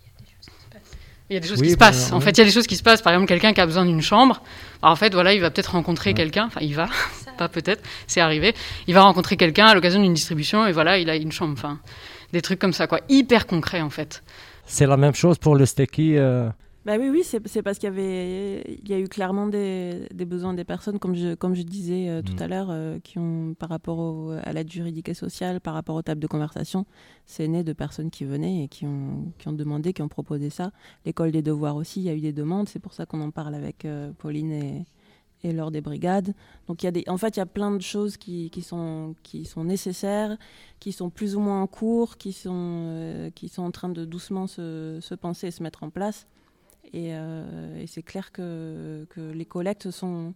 Il y a des choses oui, qui se bah, passent. Oui. En fait, il y a des choses qui se passent. Par exemple, quelqu'un qui a besoin d'une chambre, alors, en fait, voilà, il va peut-être rencontrer ouais. quelqu'un, enfin, il va, pas peut-être, c'est arrivé, il va rencontrer quelqu'un à l'occasion d'une distribution, et voilà, il a une chambre, enfin, des trucs comme ça, quoi, hyper concrets, en fait. C'est la même chose pour le Stekkie euh... Bah oui, oui, c'est, c'est parce qu'il y avait, il y a eu clairement des, des besoins des personnes, comme je, comme je disais euh, tout mmh. à l'heure, euh, qui ont, par rapport au, à l'aide juridique et sociale, par rapport aux tables de conversation, c'est né de personnes qui venaient et qui ont, qui ont demandé, qui ont proposé ça. L'école des devoirs aussi, il y a eu des demandes, c'est pour ça qu'on en parle avec euh, Pauline et, et Laure des Brigades. Donc il y a des, en fait, il y a plein de choses qui, qui, sont, qui sont nécessaires, qui sont plus ou moins en cours, qui sont, euh, qui sont en train de doucement se, se penser et se mettre en place. Et, euh, et c'est clair que, que les collectes sont,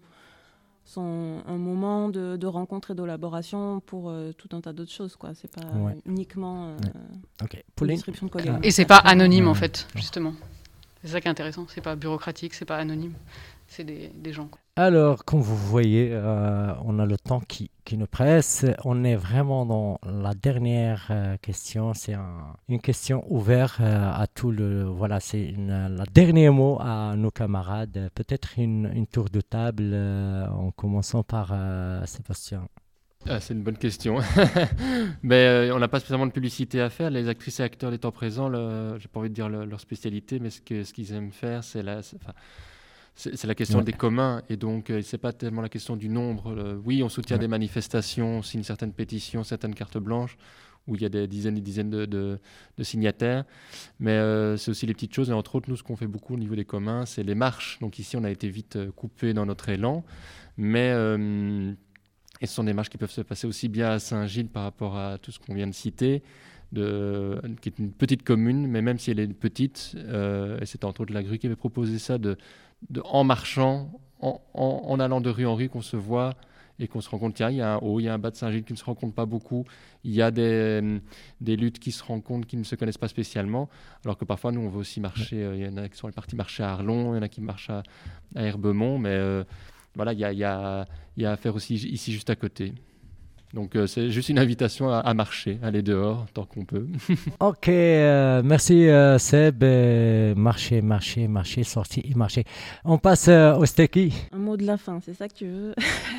sont un moment de, de rencontre et d'élaboration pour euh, tout un tas d'autres choses, quoi. C'est pas ouais. uniquement euh, ouais. okay. une distribution de colis. Et c'est pas anonyme, en fait, justement. C'est ça qui est intéressant. C'est pas bureaucratique, c'est pas anonyme. C'est des, des gens, quoi. Alors, comme vous voyez, euh, on a le temps qui, qui nous presse. On est vraiment dans la dernière euh, question. C'est un, une question ouverte euh, à tout le... Voilà, c'est une, le dernier mot à nos camarades. Peut-être une, une tour de table euh, en commençant par euh, Sébastien. Ah, c'est une bonne question. mais euh, on n'a pas spécialement de publicité à faire. Les actrices et acteurs des temps présents, le, j'ai pas envie de dire le, leur spécialité, mais ce, que, ce qu'ils aiment faire, c'est la... C'est, C'est, c'est la question ouais. des communs, et donc euh, c'est pas tellement la question du nombre. Euh, oui, on soutient ouais. des manifestations, on signe certaines pétitions, certaines cartes blanches, où il y a des dizaines et des dizaines de, de, de signataires, mais euh, c'est aussi les petites choses, et entre autres, nous, ce qu'on fait beaucoup au niveau des communs, c'est les marches. Donc ici, on a été vite euh, coupé dans notre élan, mais euh, et ce sont des marches qui peuvent se passer aussi bien à Saint-Gilles par rapport à tout ce qu'on vient de citer, de, qui est une petite commune, mais même si elle est petite, euh, et c'était entre autres la Grue qui avait proposé ça, de De, en marchant, en, en, en allant de rue en rue, qu'on se voit et qu'on se rend compte, tiens, il y a un haut, il y a un bas de Saint-Gilles qui ne se rencontrent pas beaucoup, il y a des, des luttes qui se rencontrent, qui ne se connaissent pas spécialement, alors que parfois, nous, on veut aussi marcher, il euh, y en a qui sont partis marcher à Arlon, il y en a qui marchent à, à Herbemont, mais euh, voilà, il y a, y, a, y a à faire aussi ici, juste à côté. Donc euh, c'est juste une invitation à, à marcher, aller dehors tant qu'on peut. Ok, euh, merci euh, Seb. Euh, marcher, marcher, marcher, sortir et marcher. On passe euh, au Stekkie. Un mot de la fin, c'est ça que tu veux?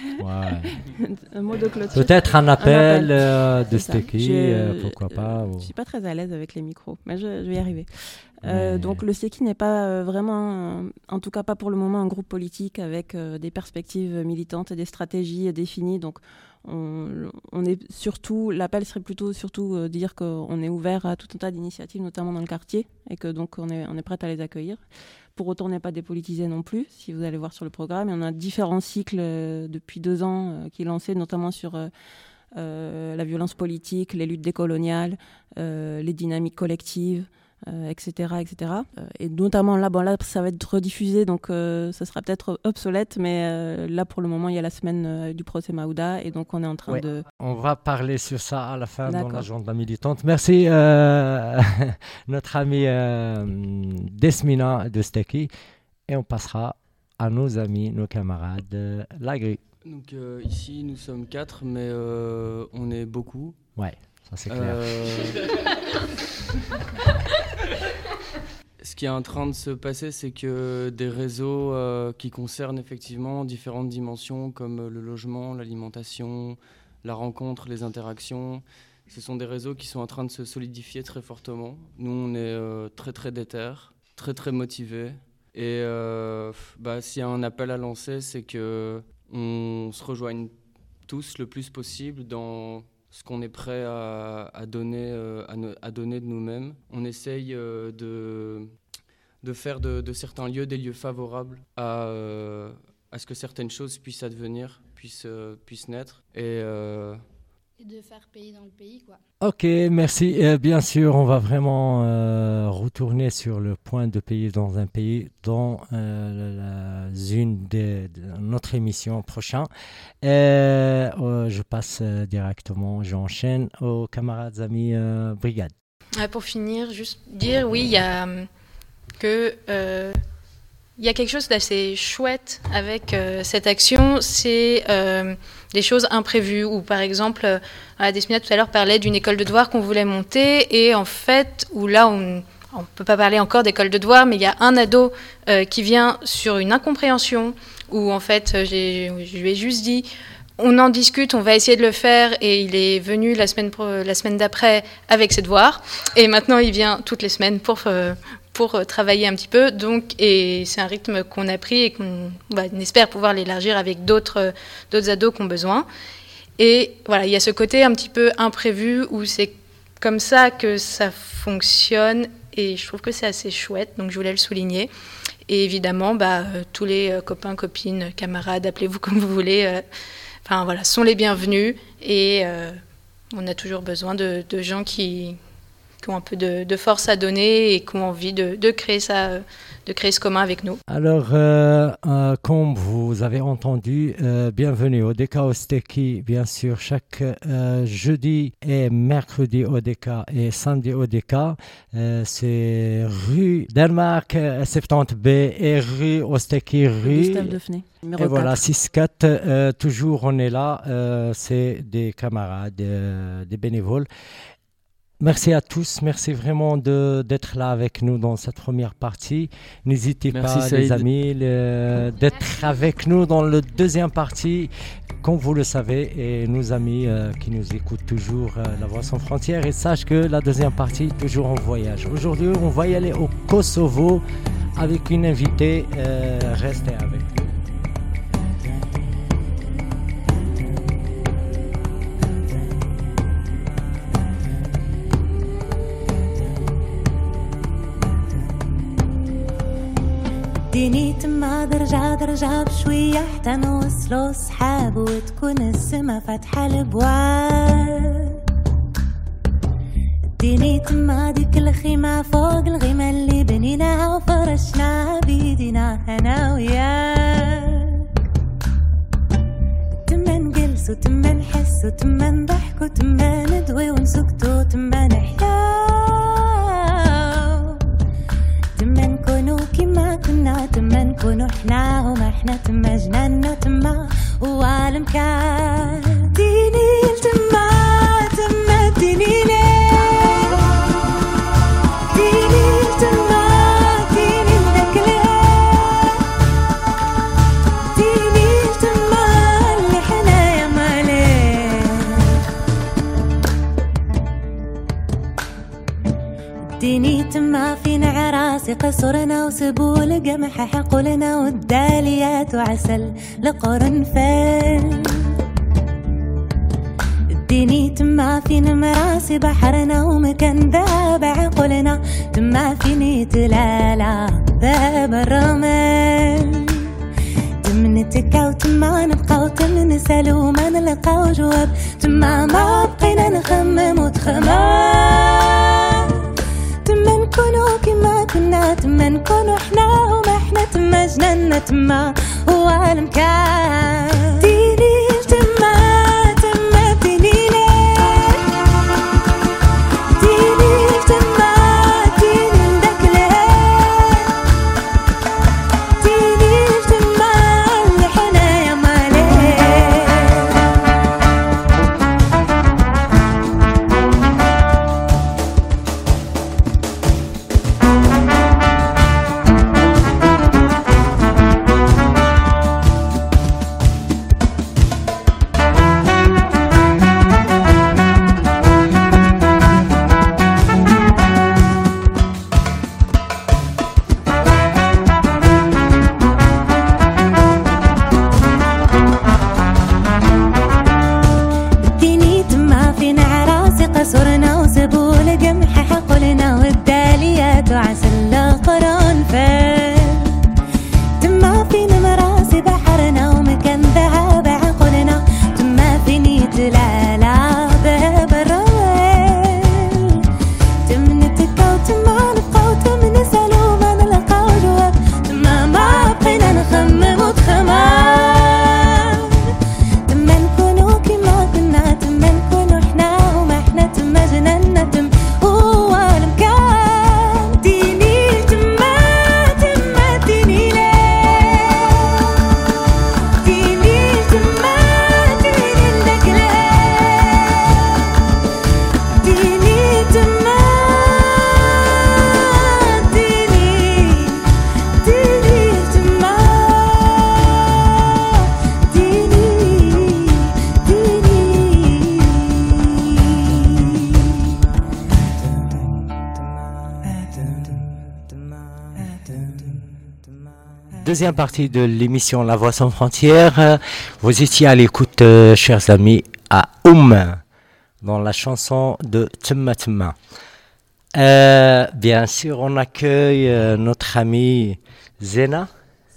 Ouais. Un mot de clôture. Peut-être un appel, un appel. Euh, de Stekkie, euh, pourquoi pas. Je ne ou... suis pas très à l'aise avec les micros, mais je, je vais y arriver. Euh, donc le Stekkie n'est pas euh, vraiment, euh, en tout cas pas pour le moment, un groupe politique avec euh, des perspectives militantes et des stratégies définies. Donc on, on est surtout, l'appel serait plutôt surtout euh, dire qu'on est ouvert à tout un tas d'initiatives, notamment dans le quartier, et que donc on est, on est prêt à les accueillir. Pour autant, on n'est pas dépolitisé non plus, si vous allez voir sur le programme. Et on a différents cycles euh, depuis deux ans euh, qui sont lancés, notamment sur euh, euh, la violence politique, les luttes décoloniales, euh, les dynamiques collectives, Euh, et cetera, et cetera. Euh, et notamment là, bon là, ça va être rediffusé, donc euh, ça sera peut-être obsolète, mais euh, là pour le moment, il y a la semaine euh, du procès Maouda, et donc on est en train ouais. de. On va parler sur ça à la fin D'accord. dans l'agenda militante. Merci euh, notre amie euh, Desmina de Stekkie, et on passera à nos amis, nos camarades, euh, la Grue. Donc euh, ici, nous sommes quatre, mais euh, on est beaucoup. Ouais. Ça, c'est clair. Euh... Ce qui est en train de se passer, c'est que des réseaux euh, qui concernent effectivement différentes dimensions comme le logement, l'alimentation, la rencontre, les interactions, ce sont des réseaux qui sont en train de se solidifier très fortement. Nous, on est euh, très très déter, très très motivés. Et euh, bah, s'il y a un appel à lancer, c'est qu'on se rejoigne tous le plus possible dans ce qu'on est prêt à, à, donner, euh, à, ne, à donner de nous-mêmes. On essaye euh, de, de faire de, de certains lieux des lieux favorables à, euh, à ce que certaines choses puissent advenir, puissent, euh, puissent naître. Et, euh, et de faire pays dans le pays, quoi. Ok, merci. Euh, bien sûr, on va vraiment euh, retourner sur le point de pays dans un pays dans euh, la, une de, de notre émission prochaine. Euh, euh, je passe euh, directement, j'enchaîne aux camarades, amis, euh, brigade. Euh, pour finir, juste dire, oui, il y a que... Euh, Il y a quelque chose d'assez chouette avec euh, cette action, c'est euh, des choses imprévues. Ou par exemple, euh, Desmina tout à l'heure parlait d'une école de devoirs qu'on voulait monter, et en fait, où là, on ne peut pas parler encore d'école de devoirs, mais il y a un ado euh, qui vient sur une incompréhension, où en fait, j'ai, je lui ai juste dit, on en discute, on va essayer de le faire, et il est venu la semaine, la semaine d'après avec ses devoirs, et maintenant il vient toutes les semaines pour... Euh, pour travailler un petit peu, donc, et c'est un rythme qu'on a pris et qu'on bah, on espère pouvoir l'élargir avec d'autres, d'autres ados qui ont besoin. Et voilà, il y a ce côté un petit peu imprévu où c'est comme ça que ça fonctionne, et je trouve que c'est assez chouette, donc je voulais le souligner. Et évidemment, bah, euh, tous les euh, copains, copines, camarades, appelez-vous comme vous voulez, euh, enfin voilà, sont les bienvenus, et euh, on a toujours besoin de, de gens qui... qui ont un peu de, de force à donner et qui ont envie de, de, créer ça, de créer ce commun avec nous. Alors, euh, euh, comme vous avez entendu, euh, bienvenue au D K Osteki, bien sûr, chaque euh, jeudi et mercredi au D K et samedi au D K. Euh, c'est rue Denmark soixante-dix B et rue Osteki, rue... Gustave Defnay, numéro et voilà, quatre. six quatre, euh, toujours on est là, euh, c'est des camarades, euh, des bénévoles. Merci à tous, merci vraiment de, d'être là avec nous dans cette première partie. N'hésitez merci pas, Saïd. les amis, le, d'être avec nous dans la deuxième partie, comme vous le savez, et nos amis euh, qui nous écoutent toujours, euh, La Voix sans frontières, et sachent que la deuxième partie, toujours en voyage. Aujourd'hui, on va y aller au Kosovo avec une invitée, euh, restez avec nous. اديني تما درجة درجة بشوية حتى نوصلو صحاب وتكون السما فاتحة البواب. اديني تما ديك الخيمة فوق الغيمة اللي بنيناها وفرشناها بيدينا أنا وياك. تما نجلس وتما نحس وتما نضحك وتما ندوي ونسكت وتما نحيا. تما نكونو كيما كنا تما نكونو حنا وما حنا تما جنانا تما وعالم كان ديني تما تما ديني ليه ديني تما ديني لذاك ليه ديني تما اللي حنايا ماليه ديني تما فينا عراسي قصرنا وسبول قمح حقولنا والداليات وعسل لقرنفل. اديني تما فينا مراسي بحرنا ومكان ذاب عقولنا تما فيني تلالا ذاب الرمل. تم نتكا وتما نبقى وتم نسأل وما نلقاو جواب تما ما بقينا نخمم وتخمم. تما نكونو كيما كنا تما نكونو حنا وما حنا تما جنانا تما وعالم كان ديني تما تما ديني ليه ديني تما ديني لذاك ليه ديني تما اللي حنايا ماليه. deuxième partie de l'émission La Voix sans frontières. Vous étiez à l'écoute, euh, chers amis, à Oum, dans la chanson de Tma Tma. Euh, bien sûr, on accueille euh, notre amie Zena.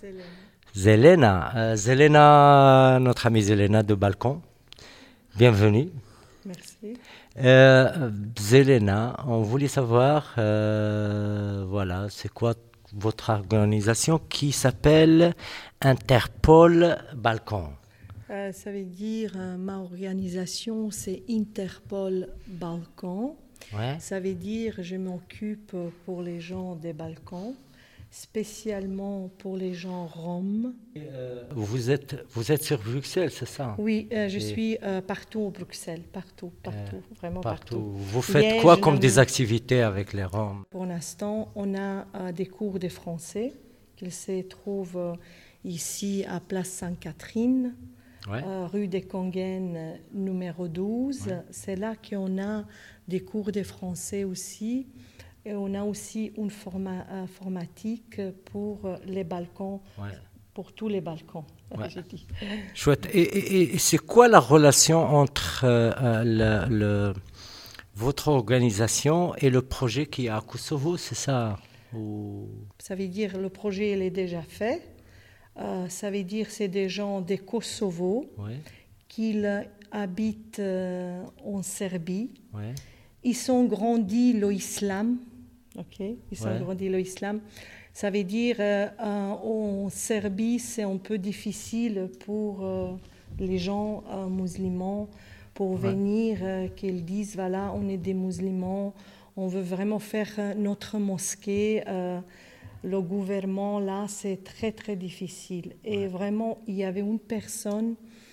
Zelena. Euh, Zelena, notre amie Zelena de Balkon. Bienvenue. Merci. Euh, Zelena, on voulait savoir, euh, voilà, c'est quoi votre organisation qui s'appelle Interpol Balkon. Euh, ça veut dire, euh, ma organisation, c'est Interpol Balkon. Ouais. Ça veut dire, je m'occupe pour les gens des Balkans, spécialement pour les gens roms. Euh, vous êtes, vous êtes sur Bruxelles, c'est ça? Oui, euh, je Et suis euh, partout au Bruxelles, partout, partout, euh, vraiment partout. partout. Vous faites Liège, quoi comme Namur. des activités avec les Roms? Pour l'instant, on a euh, des cours de français qui se trouvent euh, ici à Place Sainte-Catherine, ouais. euh, rue des Conguennes, numéro douze. Ouais. C'est là qu'on a des cours de français aussi. Et on a aussi une forma, informatique pour les Balkans, ouais. pour tous les Balkans, ouais. j'ai dit. Chouette. Et, et, et c'est quoi la relation entre euh, le, le, votre organisation et le projet qui est à Kosovo, c'est ça? Ou... Ça veut dire le projet il est déjà fait. Euh, ça veut dire c'est des gens de Kosovo ouais. qui habitent euh, en Serbie. Ouais. Ils ont grandi l'islam. Ok, ils ont ouais. grandi l'islam. Ça veut dire euh, en Serbie, c'est un peu difficile pour euh, les gens euh, musulmans pour ouais. venir, euh, qu'ils disent voilà, on est des musulmans, on veut vraiment faire euh, notre mosquée. Euh, le gouvernement là, c'est très très difficile. Et ouais. vraiment, il y avait une personne,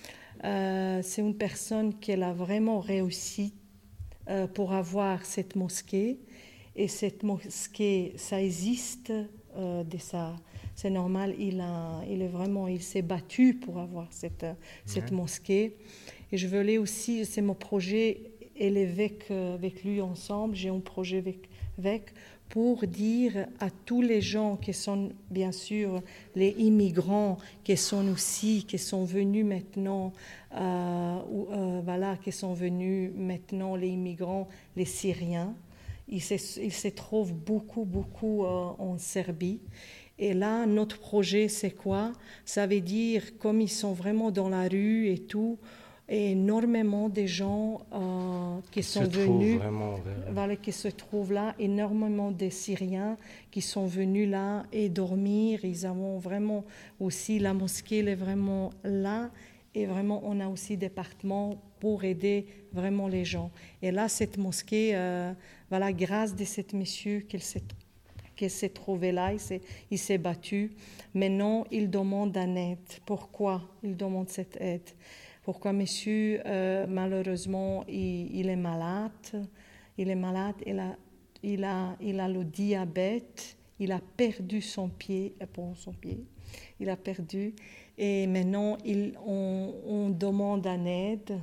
euh, c'est une personne qui a vraiment réussi euh, pour avoir cette mosquée. Et cette mosquée, ça existe, euh, de ça, c'est normal. Il a, il est vraiment, il s'est battu pour avoir cette ouais. cette mosquée. Et je voulais aussi, c'est mon projet, et avec avec lui ensemble, j'ai un projet avec avec pour dire à tous les gens qui sont bien sûr les immigrants qui sont aussi qui sont venus maintenant, euh, ou, euh, voilà, qui sont venus maintenant les immigrants, les Syriens. Il se, il se trouve beaucoup, beaucoup euh, en Serbie. Et là, notre projet, c'est quoi? Ça veut dire, comme ils sont vraiment dans la rue et tout, et énormément de gens euh, qui sont se venus, vraiment, voilà, qui se trouvent là, énormément de Syriens qui sont venus là et dormir. Ils ont vraiment aussi, la mosquée elle est vraiment là. Et vraiment, on a aussi des départements pour aider vraiment les gens. Et là, cette mosquée, euh, voilà, grâce à cet monsieur qu'il s'est, qu'il s'est trouvé là, il s'est, il s'est battu. Maintenant, il demande une aide. Pourquoi il demande cette aide? Pourquoi monsieur, euh, malheureusement, il, il est malade. Il est malade, il a, il a, il a le diabète, il a perdu son pied, bon, son pied, il a perdu. Et maintenant, il, on, on demande une aide.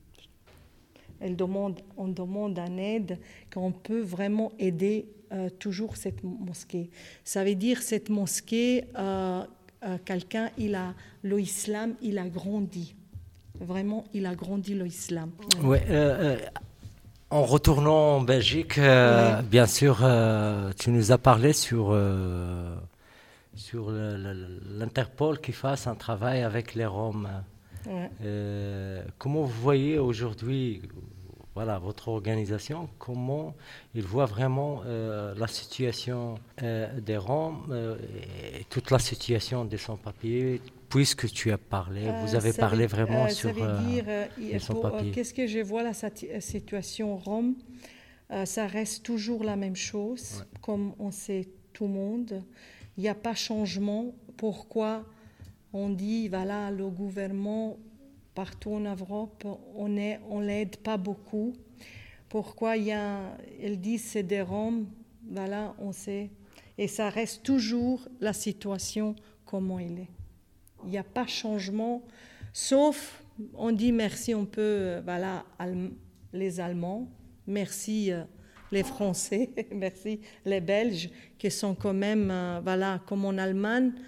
Elle demande, on demande une aide qu'on peut vraiment aider euh, toujours cette mosquée. Ça veut dire cette mosquée, euh, euh, quelqu'un, il a l'islam, il a grandi. Vraiment, il a grandi l'islam. Oui. Euh, euh, en retournant en Belgique, euh, ouais. bien sûr, euh, tu nous as parlé sur. Euh, sur le, le, l'Interpol qui fasse un travail avec les Roms. Ouais. Euh, comment vous voyez aujourd'hui, voilà, votre organisation, comment il voit vraiment euh, la situation euh, des Roms euh, et toute la situation des sans-papiers, puisque tu as parlé, euh, vous avez parlé veut, vraiment euh, sur ça veut dire, euh, les sans-papiers. Euh, qu'est-ce que je vois la situation Rome, euh, ça reste toujours la même chose, ouais. comme on sait tout le monde. Il n'y a pas de changement. Pourquoi on dit, voilà, le gouvernement, partout en Europe, on ne on l'aide pas beaucoup. Pourquoi il y a, ils disent c'est des Roms, voilà, on sait. Et ça reste toujours la situation comment elle est. Il n'y a pas de changement, sauf, on dit merci, on peut, voilà, les Allemands, merci les Français, merci les Belges, qui sont quand même, euh, voilà, comme en Allemagne,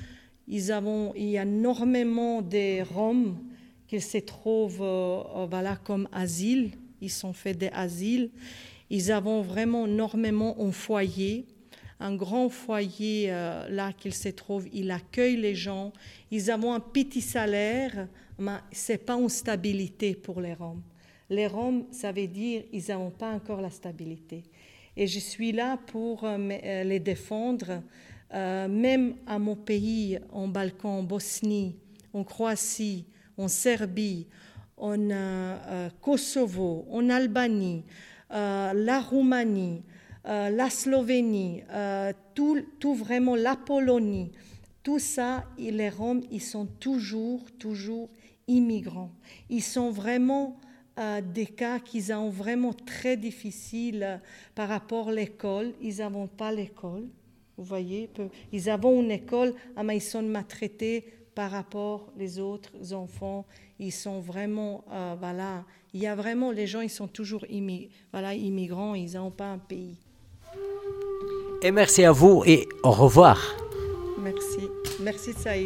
Ils avons, il y a énormément de Roms qui se trouvent euh, voilà, comme asile. Ils sont faits des asiles. Ils avons vraiment énormément un foyer, un grand foyer euh, là qu'ils se trouvent. Ils accueillent les gens. Ils ont un petit salaire, mais ce n'est pas une stabilité pour les Roms. Les Roms, ça veut dire qu'ils n'ont pas encore la stabilité. Et je suis là pour euh, les défendre, euh, même à mon pays, en Balkan, en Bosnie, en Croatie, en Serbie, en euh, euh, Kosovo, en Albanie, euh, la Roumanie, euh, la Slovénie, euh, tout, tout vraiment la Pologne, tout ça, les Roms, ils sont toujours, toujours immigrants. Ils sont vraiment euh, des cas qui sont vraiment très difficiles euh, par rapport à l'école. Ils n'ont pas l'école, vous voyez. Ils ont une école, mais ils sont maltraités par rapport aux autres enfants. Ils sont vraiment, euh, voilà, il y a vraiment, les gens, ils sont toujours immi- voilà, immigrants, ils n'ont pas un pays. Et merci à vous et au revoir. Merci. Merci Saïd.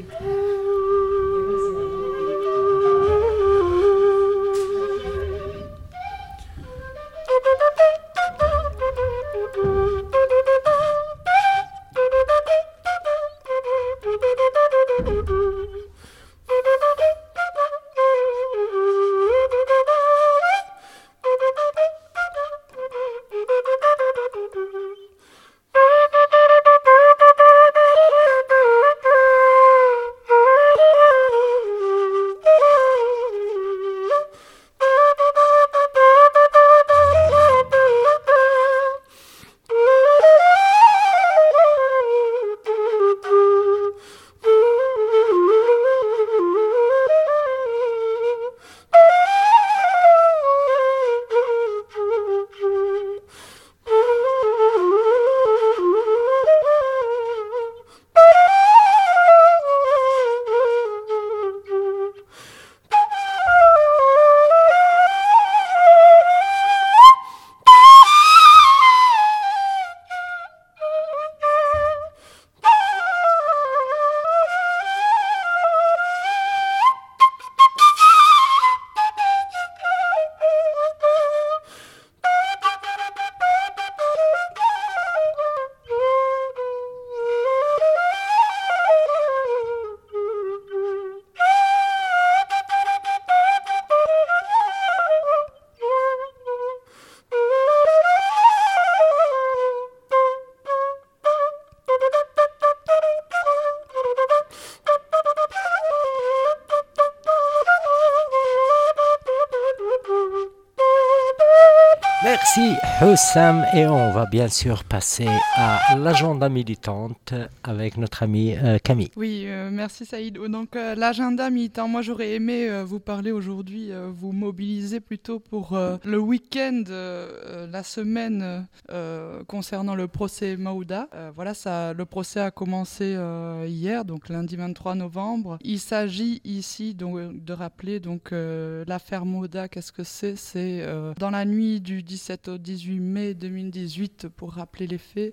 Merci Hussam et on va bien sûr passer à l'agenda militante avec notre ami euh, Camille. Oui, euh, merci Saïd. Donc euh, l'agenda militant, moi j'aurais aimé euh, vous parler aujourd'hui, euh, vous mobiliser plutôt pour euh, le week-end, euh, la semaine euh, concernant le procès Maouda. Euh, voilà, ça, le procès a commencé euh, hier, donc lundi vingt-trois novembre. Il s'agit ici donc, de rappeler donc euh, l'affaire Maouda. Qu'est-ce que c'est ? C'est euh, dans la nuit du dix-sept au dix-huit mai deux mille dix-huit, pour rappeler les faits,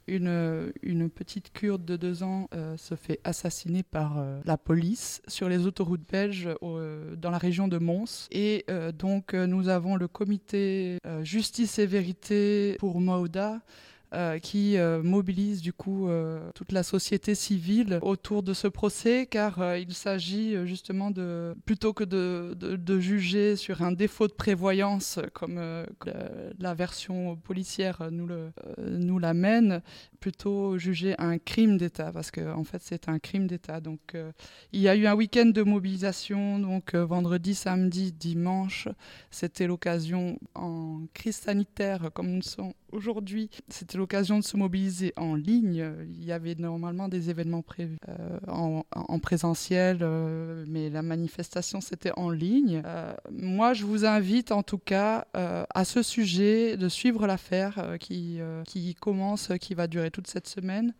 une, une petite Kurde de deux ans euh, se fait assassiner par euh, la police sur les autoroutes belges euh, dans la région de Mons. Et euh, donc euh, nous avons le comité euh, Justice et Vérité pour Maouda, Euh, qui euh, mobilise du coup euh, toute la société civile autour de ce procès, car euh, il s'agit euh, justement de, plutôt que de, de, de juger sur un défaut de prévoyance comme euh, la version policière nous, le, euh, nous l'amène, plutôt juger un crime d'État, parce qu'en en fait c'est un crime d'État. Donc euh, il y a eu un week-end de mobilisation, donc euh, vendredi, samedi, dimanche. C'était l'occasion, en crise sanitaire comme nous sommes aujourd'hui, c'était l'occasion de se mobiliser en ligne. Il y avait normalement des événements prévus euh, en, en présentiel, euh, mais la manifestation c'était en ligne. Euh, moi je vous invite en tout cas euh, à ce sujet de suivre l'affaire euh, qui, euh, qui commence, qui va durer toute cette semaine.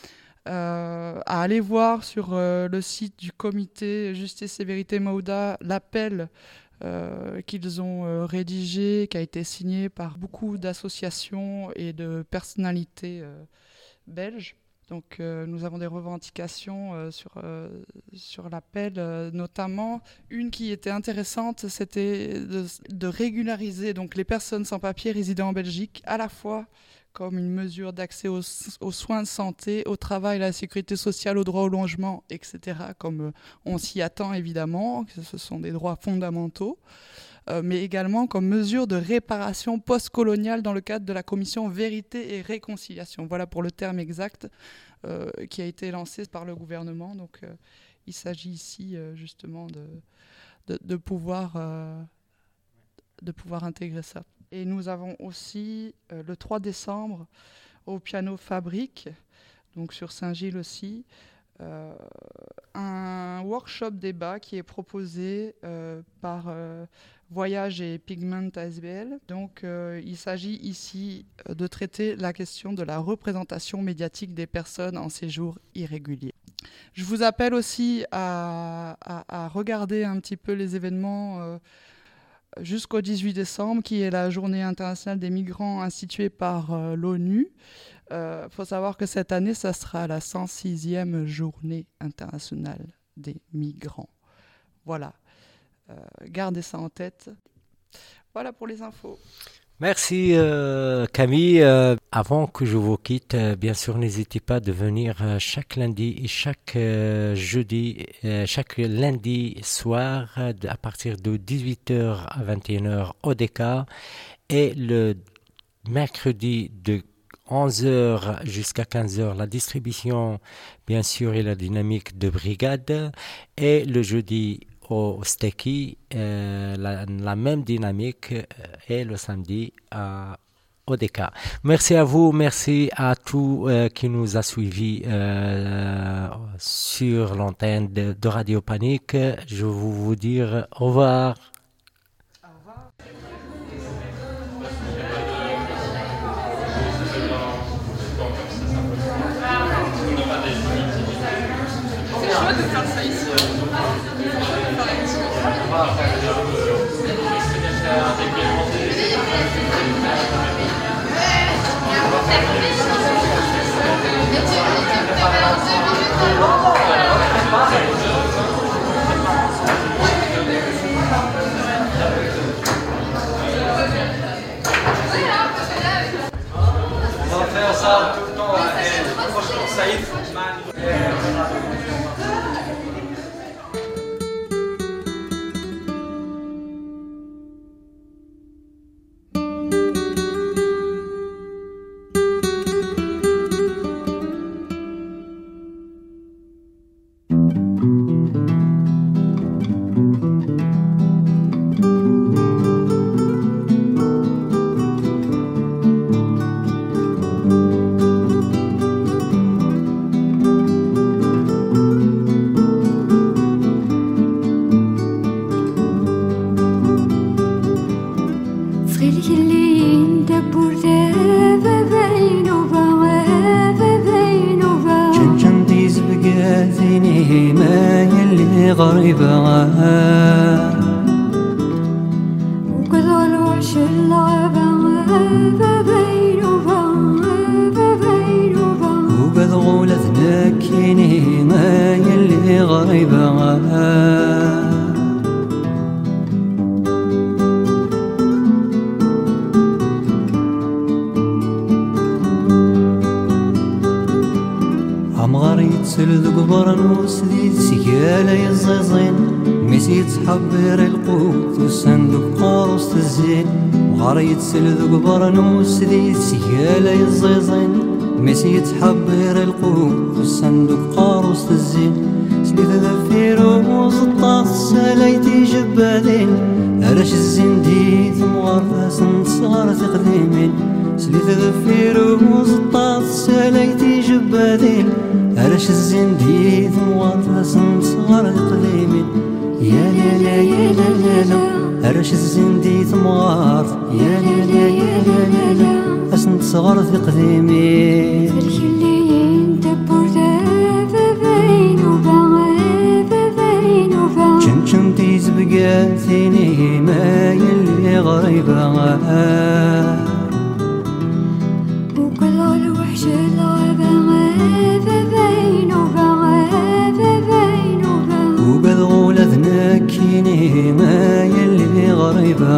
Euh, à aller voir sur euh, le site du comité Justice et Vérité Maouda l'appel Euh, qu'ils ont euh, rédigé, qui a été signé par beaucoup d'associations et de personnalités euh, belges. Donc euh, nous avons des revendications euh, sur, euh, sur l'appel, euh, notamment une qui était intéressante, c'était de, de régulariser donc, les personnes sans papier résidant en Belgique, à la fois comme une mesure d'accès aux, aux soins de santé, au travail, à la sécurité sociale, au droit au logement, et cetera, comme euh, on s'y attend évidemment, que ce sont des droits fondamentaux. Euh, mais également comme mesure de réparation post-coloniale dans le cadre de la commission Vérité et Réconciliation. Voilà pour le terme exact euh, qui a été lancé par le gouvernement. Donc euh, il s'agit ici euh, justement de, de, de, pouvoir, euh, de pouvoir intégrer ça. Et nous avons aussi euh, le trois décembre au Piano Fabrique, donc sur Saint-Gilles aussi, Euh, un workshop débat qui est proposé euh, par euh, Voyage et Pigment A S B L. Donc euh, il s'agit ici de traiter la question de la représentation médiatique des personnes en séjour irrégulier. Je vous appelle aussi à, à, à regarder un petit peu les événements euh, jusqu'au dix-huit décembre, qui est la journée internationale des migrants instituée par euh, l'ONU. Il euh, faut savoir que cette année, ça sera la cent sixième journée internationale des migrants. Voilà, euh, gardez ça en tête. Voilà pour les infos. Merci euh, Camille. Euh, avant que je vous quitte, euh, bien sûr, n'hésitez pas de venir euh, chaque lundi et chaque euh, jeudi, euh, chaque lundi soir, euh, à partir de dix-huit heures à vingt et une heures au D K, et le mercredi de onze heures jusqu'à quinze heures, la distribution, bien sûr, et la dynamique de brigade. Et le jeudi au Stekkie, euh, la, la même dynamique, euh, et le samedi à, au D K. Merci à vous, merci à tous euh, qui nous a suivis euh, sur l'antenne de, de Radio Panique. Je vais vous dire au revoir. De faire ça ici. On va faire ça tout le temps. Franchement, ça y est. سلذ قبرنوس ذي سيالة الزيزين مسي تحبر القوت والصندوق قاروس الزين سليت ذفيروز الطاس ساليتي جبالين هرش الزندي ثم غرفاس صغار تقديمين سليت ذفيروز الطاس ساليتي جبالين هرش الزندي ثم غرفاس صغار تقديمين يا لا لا يا لا لا لا هرش الزندي ثمغار يا لا لا يا لا لا لا أسنت صغار في قديمي الخليين دبور ذا بين وبعا بين وبعا شن شن تيز بقاثيني ما يلي غريبة وكل الوحش الغابة غريبة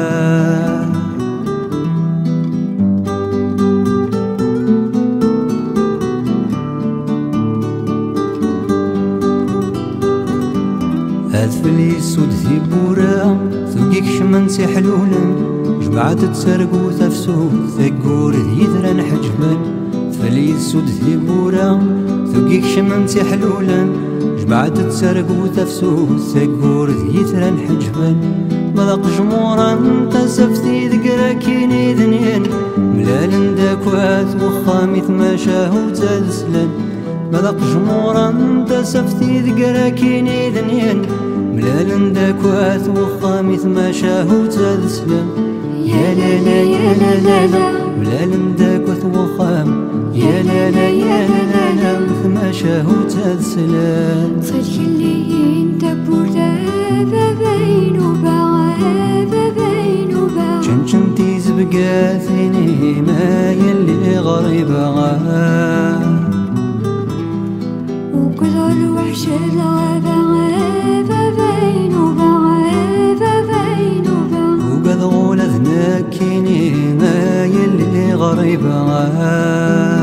هاد فلي سود ذي بورا ثوقيك شمن سي حلولا جمعت تسرقو تفسو ثقور ذيذرا حجبا فلي سود ذي بورا ثوقيك شمن سي حلولا جمعت تسرقو تفسو ثقور ذيذرا حجبا مذاق جمورا تسفتي ذكرا كيني ذنين ملال داكوات وخامي ثماشاهو تسلن مذاق جمورا تسفتي ذكرا كيني ذنين ملال داكوات وخامي ثماشاهو تسلن يا لا لا يا لا لا لا ملال داكوات وخام يا لا لا يا لا لا ثماشاهو تسلن صدق اللي انت بوردا بين وبعاد بين وبعاد شنشنتي زبقاتني ما يلي غريبة وكذا الوحش الغابة غابة بين وبعاد بين وبعاد وقد غول ذناكيني ما يلي غريبة